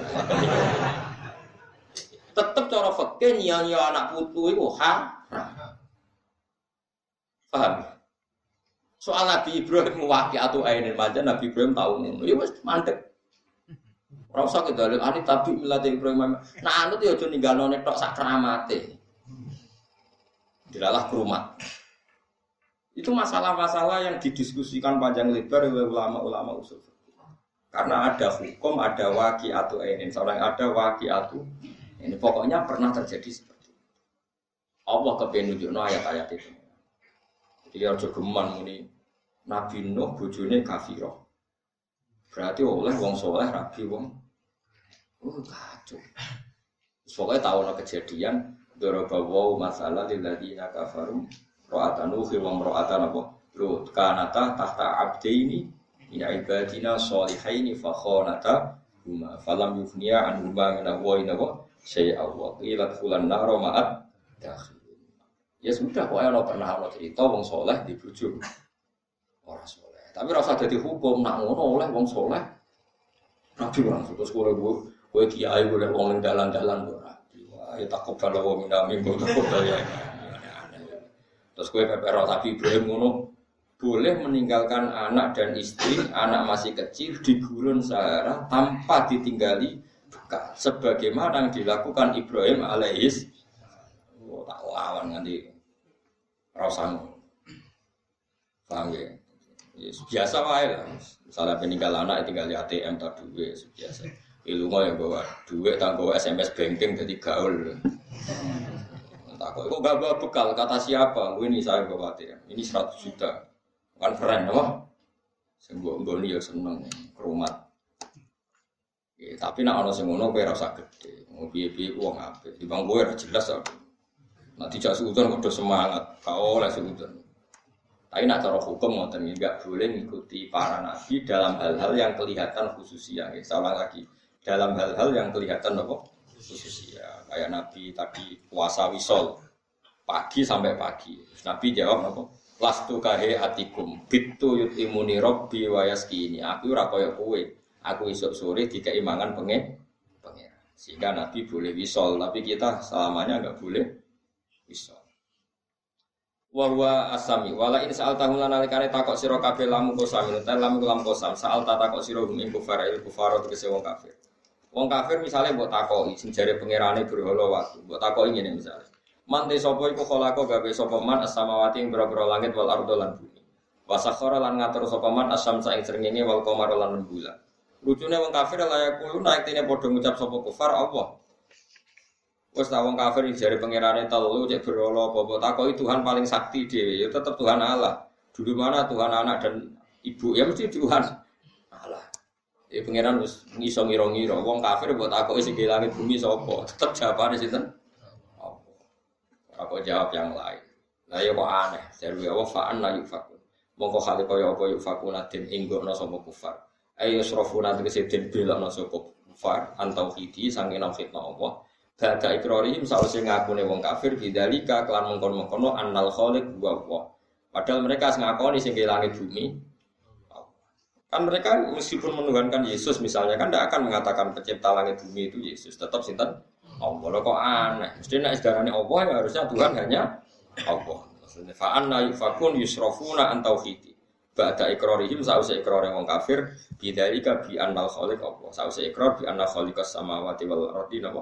Tetap cara fikih nyanyi anak putu itu haram. Paham? Soal Nabi Ibrahim waqi'atu ainin aja Nabi Ibrahim tahu ngono. Ya wis mandek. Ora usah kedalem ani tabi milate Ibrahim. Nah anut ya aja ninggalno nek tok sak keramate. Dilalah kerumat. Itu masalah-masalah yang didiskusikan panjang lebar oleh ulama-ulama usul. Karena ada hukum, ada waqi'atu ainin, seorang ada waqi'atu. Ini pokoknya pernah terjadi seperti itu. Allah kepen nunjukno ayat-ayat itu. Jadi aja geman muni Nabi Nuh bojone kafirah. Berarti oleh wong saleh rabi wong. Oh kacau. Pokoknya tahu ana kejadian daraba wa masalah lil ladina kafaru ra'atanu fi wa ra'atan apa? Lut kanata tahta abdaini ina ibadina sholihaini fa khanata huma falam yufniya an huma min ahwaina wa syai'a wa qilat fulan naro ma'at dakhil. Ya sudah kok ana pernah ana cerita wong saleh dibujuk ora saleh. Tapi ora usah dadi hukum nak ngono oleh wong saleh. Nabi ora terus kowe kowe kiai oleh wong ning dalan-dalan ora. Ya takut kalau wong minami kok ya. Terus kowe pepero Nabi Ibrahim ngono boleh meninggalkan anak dan istri, anak masih kecil di gurun Sahara tanpa ditinggali bekas. Sebagaimana yang dilakukan Ibrahim alaihis. Oh, tak lawan nanti rasanya. Paham ya? Yes, biasa wae lah. Misalnya peninggal anak tinggal di A T M tak duwe biasa. Ilmu ya bawa duit, tak bawa S M S banking jadi gaul. Tak kok kok gak bawa bekal kata siapa? Ini saya bawa ya. Ini seratus juta. Kan keren apa? Sembuh nggoni ya seneng kerumat. Ya, tapi nak ana sing ngono kowe ora usah gede. Mau piye-piye wong apik. Di bang kowe ora jelas kok. Nek dijak suudon kok semangat. Ka oleh suudon. Tapi nak cara hukum ngoten enggak boleh mengikuti para nabi dalam hal-hal yang kelihatan khususnya. Ya, salah lagi. Dalam hal-hal yang kelihatan apa? Khususnya. Kayak nabi tadi puasa wisol pagi sampai pagi. Nabi jawab apa? Lastu kahe atikum bitu yutimuni rabbi wa yaskini. Aku ora kaya kowe. Aku esuk sore dikai mangan pengen pengen. Sehingga nabi boleh wisol, tapi kita selamanya enggak boleh wisol. Wa huwa asami wala in sa'al tahun lan alikane takok sira kabeh lamu kosam ta lamu lam kosam sa'al ta takok sira ing kufar il kufar tegese wong kafir. Wong kafir misale mbok takoki sing jare pangerane berhala waktu. Mbok takoki ngene misale. Man te sapa iku kholako gawe sapa man as-samawati ing boro-boro langit wal ardo lan bumi. Wa sakhara lan ngatur sapa man as-samsa ing srengenge wal qamara lan rembulan. Lucune wong kafir layak kulo naik tine padha ngucap sapa kufar Allah. Wes ta wong kafir jare pangerane telu cek berhala apa takoki Tuhan paling sakti dhewe ya tetep Tuhan Allah. Dulu mana Tuhan anak dan ibu ya mesti Tuhan Allah. Ya pangeran wis ngiso ngira-ngira wong kafir mbok takoki sing langit bumi sapa tetep jawabane sinten? Apa jawab yang lain. Lah ya kok aneh, jaru ya wa fa'an la yufakun. Mongko khali kaya apa yufakuna den inggono sapa kufar. Ayo srofuna tegese den belokno sapa kufar antauhidi sange nauhidna Allah. Bada ikrarihim sause ngakune wong kafir bidzalika kelan mengkon-mengkono annal khaliq wa Allah. Padahal mereka ngakoni sing langit bumi. Kan mereka meskipun menuhankan Yesus misalnya kan tidak akan mengatakan pencipta langit bumi itu Yesus, tetap sinten Allah. Kok aneh. Mesti nek sedarane Allah ya harusnya Tuhan hanya Allah. Maksudnya fa anna yufakun yusrafuna an tauhidi. Ba'da ikrarihim sause ikrare wong kafir bidzalika bi annal khaliq Allah. Sause ikrar bi anna khaliqas samawati wal ardi Allah.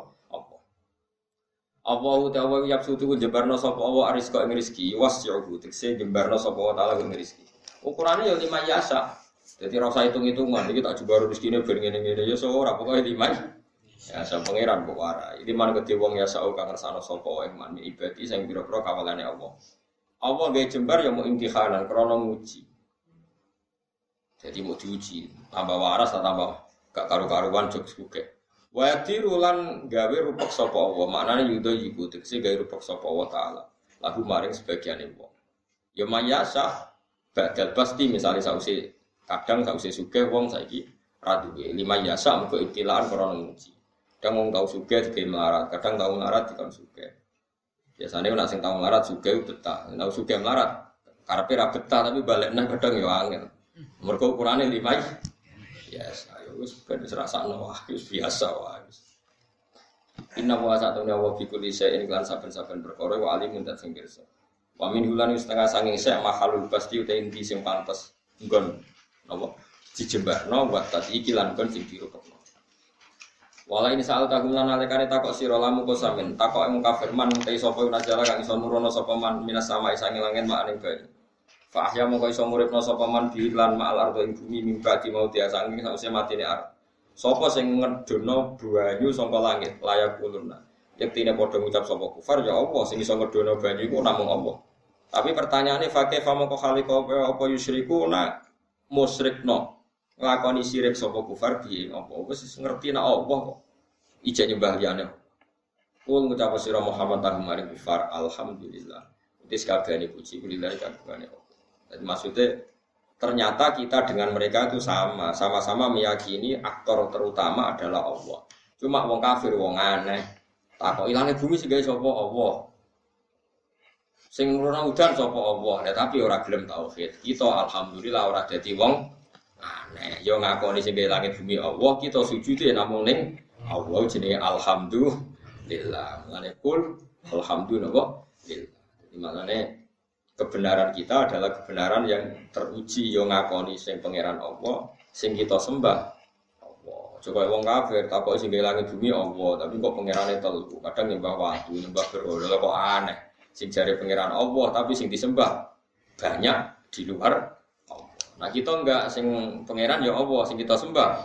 Allahu ta'ala yabsutu jebarno sapa Allah arizqa ing rezeki wasyuhu tekse jebarno sapa wa ta'ala ing rezeki. Ukurane ya lima yasa. Dadi ora usah hitung-hitungan iki tak jebaro rezekine ben ngene-ngene ya ora pokoke lima. Ya sa pangeran kok warai. Iki man gedhe wong ya sak kang ngersano sapa wae man ibadi sing pira-pira kawalane Allah. Allah gawe jembar ya mau imtihanan krana nguji. Jadi mau diuji, tambah waras atau tambah gak karu-karuan jog suke. Wa tirulan gawe rupek sapa Allah, maknane yudo yiku tegese gawe rupek sapa Allah taala. Lagu maring sebagiane wong. Ya mayasa badal pasti misalnya sause kadang sause sugih wong saiki ra duwe. Lima yasa muga ibtilaan krana nguji. Kadang wong tau sugih digawe melarat, kadang tau melarat dikon sugih. Biasane nek sing tau melarat sugih betah, tau sugih melarat karepe ra betah tapi balik nang kadang ya angel. Mergo ukurane lima yes, ayo wis ben rasakno wah wis biasa wae. Inna wa satuna wa fi kulli shay'in lan saben-saben perkara wa alimun dat sing pirsa. Wa min hulan setengah sanging sek mahalul pasti uta inti sing pantes nggon napa dijembarno wa tadi iki lan kon sing dirupekno. Wala ini saal tagulan alekane takok sira lamu kosamen takok emu kafir man te sapa unajala kang iso nurono sapa man minas sama isange langit makane bae. Fa ahya mongko iso muripno sapa man bi lan ma'al ardo ing bumi mimba di mau dia saking sause matine arep. Sapa sing ngedono banyu saka langit layak uluna. Yektine padha ngucap sapa kufar ya Allah sing iso ngedono banyu iku namung Allah. Tapi pertanyaane fa kaifa mongko khaliqa apa yusyrikuna musyrikno. Nglakoni syirik sapa kufar piye apa wis ngerti nek Allah kok ijek nyembah liyane. Kul ngucap sira Muhammad tahumari kufar alhamdulillah. Wis kabehane puji kulillahi kabehane. Jadi maksudnya ternyata kita dengan mereka itu sama, sama-sama meyakini aktor terutama adalah Allah. Cuma wong kafir wong aneh. Takok ilange bumi sing gawe sapa Allah. Sing nuruna udan sapa Allah. Ya, tapi ora gelem tauhid. Kita alhamdulillah ora dadi wong aneh. Yo ngakoni sing gawe langit bumi Allah, kita sujude namung ning Allah jenenge alhamdulillah. Ngene kul alhamdulillah. Jadi maknane kebenaran kita adalah kebenaran yang teruji yo ngakoni sing pangeran Allah, sing kita sembah Allah. Coba wong kafir takok sing gawe langit bumi Allah, tapi kok pangerane telu. Kadang nyembah watu, nyembah berhala kok aneh. Sing jare pangeran Allah tapi sing disembah banyak di luar Allah. Nah kita enggak sing pangeran ya Allah, sing kita sembah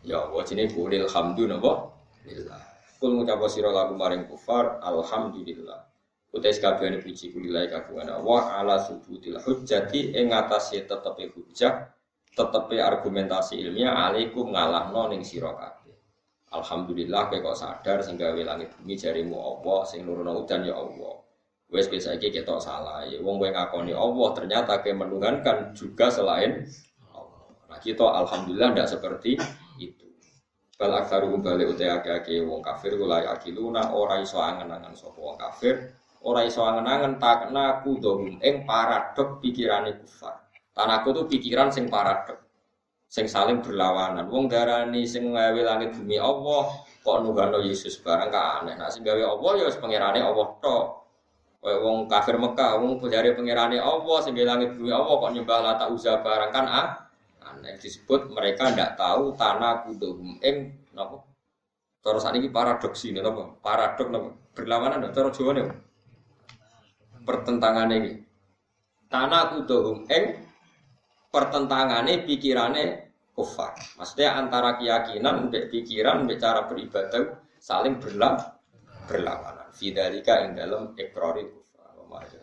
Ya Allah jenenge kulil hamdu napa? Lillah. Kul ngucap sira lagu maring kufar alhamdulillah. Utais kabehane puji kulilai kagungan Allah ala subutil hujjati ing ngatasé tetepe hujjah, tetepe argumentasi ilmiah alaikum ngalahno ning sira kabeh. Alhamdulillah kowe kok sadar sing gawe langit bumi jarimu Allah, sing nurono udan ya Allah. Wes biasa iki ketok salah. Ya wong kowe ngakoni Allah ternyata ke menunggankan juga selain Allah. Nah kita alhamdulillah ndak seperti itu. Bal aktsaruhum balik uta akeh wong kafir kula yakiluna ora iso angen-angen sapa wong kafir, ora iso angen-angen takna kudhum ing paradok pikirane kufar. Tanaku tuh pikiran sing paradok, sing saling berlawanan. Wong darani sing gawe langit bumi Allah, kok nunggano Yesus barang ka aneh. Nah sing gawe Allah ya wis pangerane Allah tok. Kayak wong kafir Mekah, wong jare pangerane Allah sing langit bumi Allah kok nyembah Lata Uzza barang kan ah. Aneh disebut mereka ndak tahu tanah kudhum ing napa? Cara sakniki paradoksi napa? Paradok napa? Berlawanan cara Jawa niku. Pertentangane iki. Tanah kudhum ing pertentangane pikirane kufar. Maksudnya antara keyakinan mbek pikiran mbek cara beribadah saling berlawanan. Berlawanan. Fidzalika ing dalam iqraril kufar.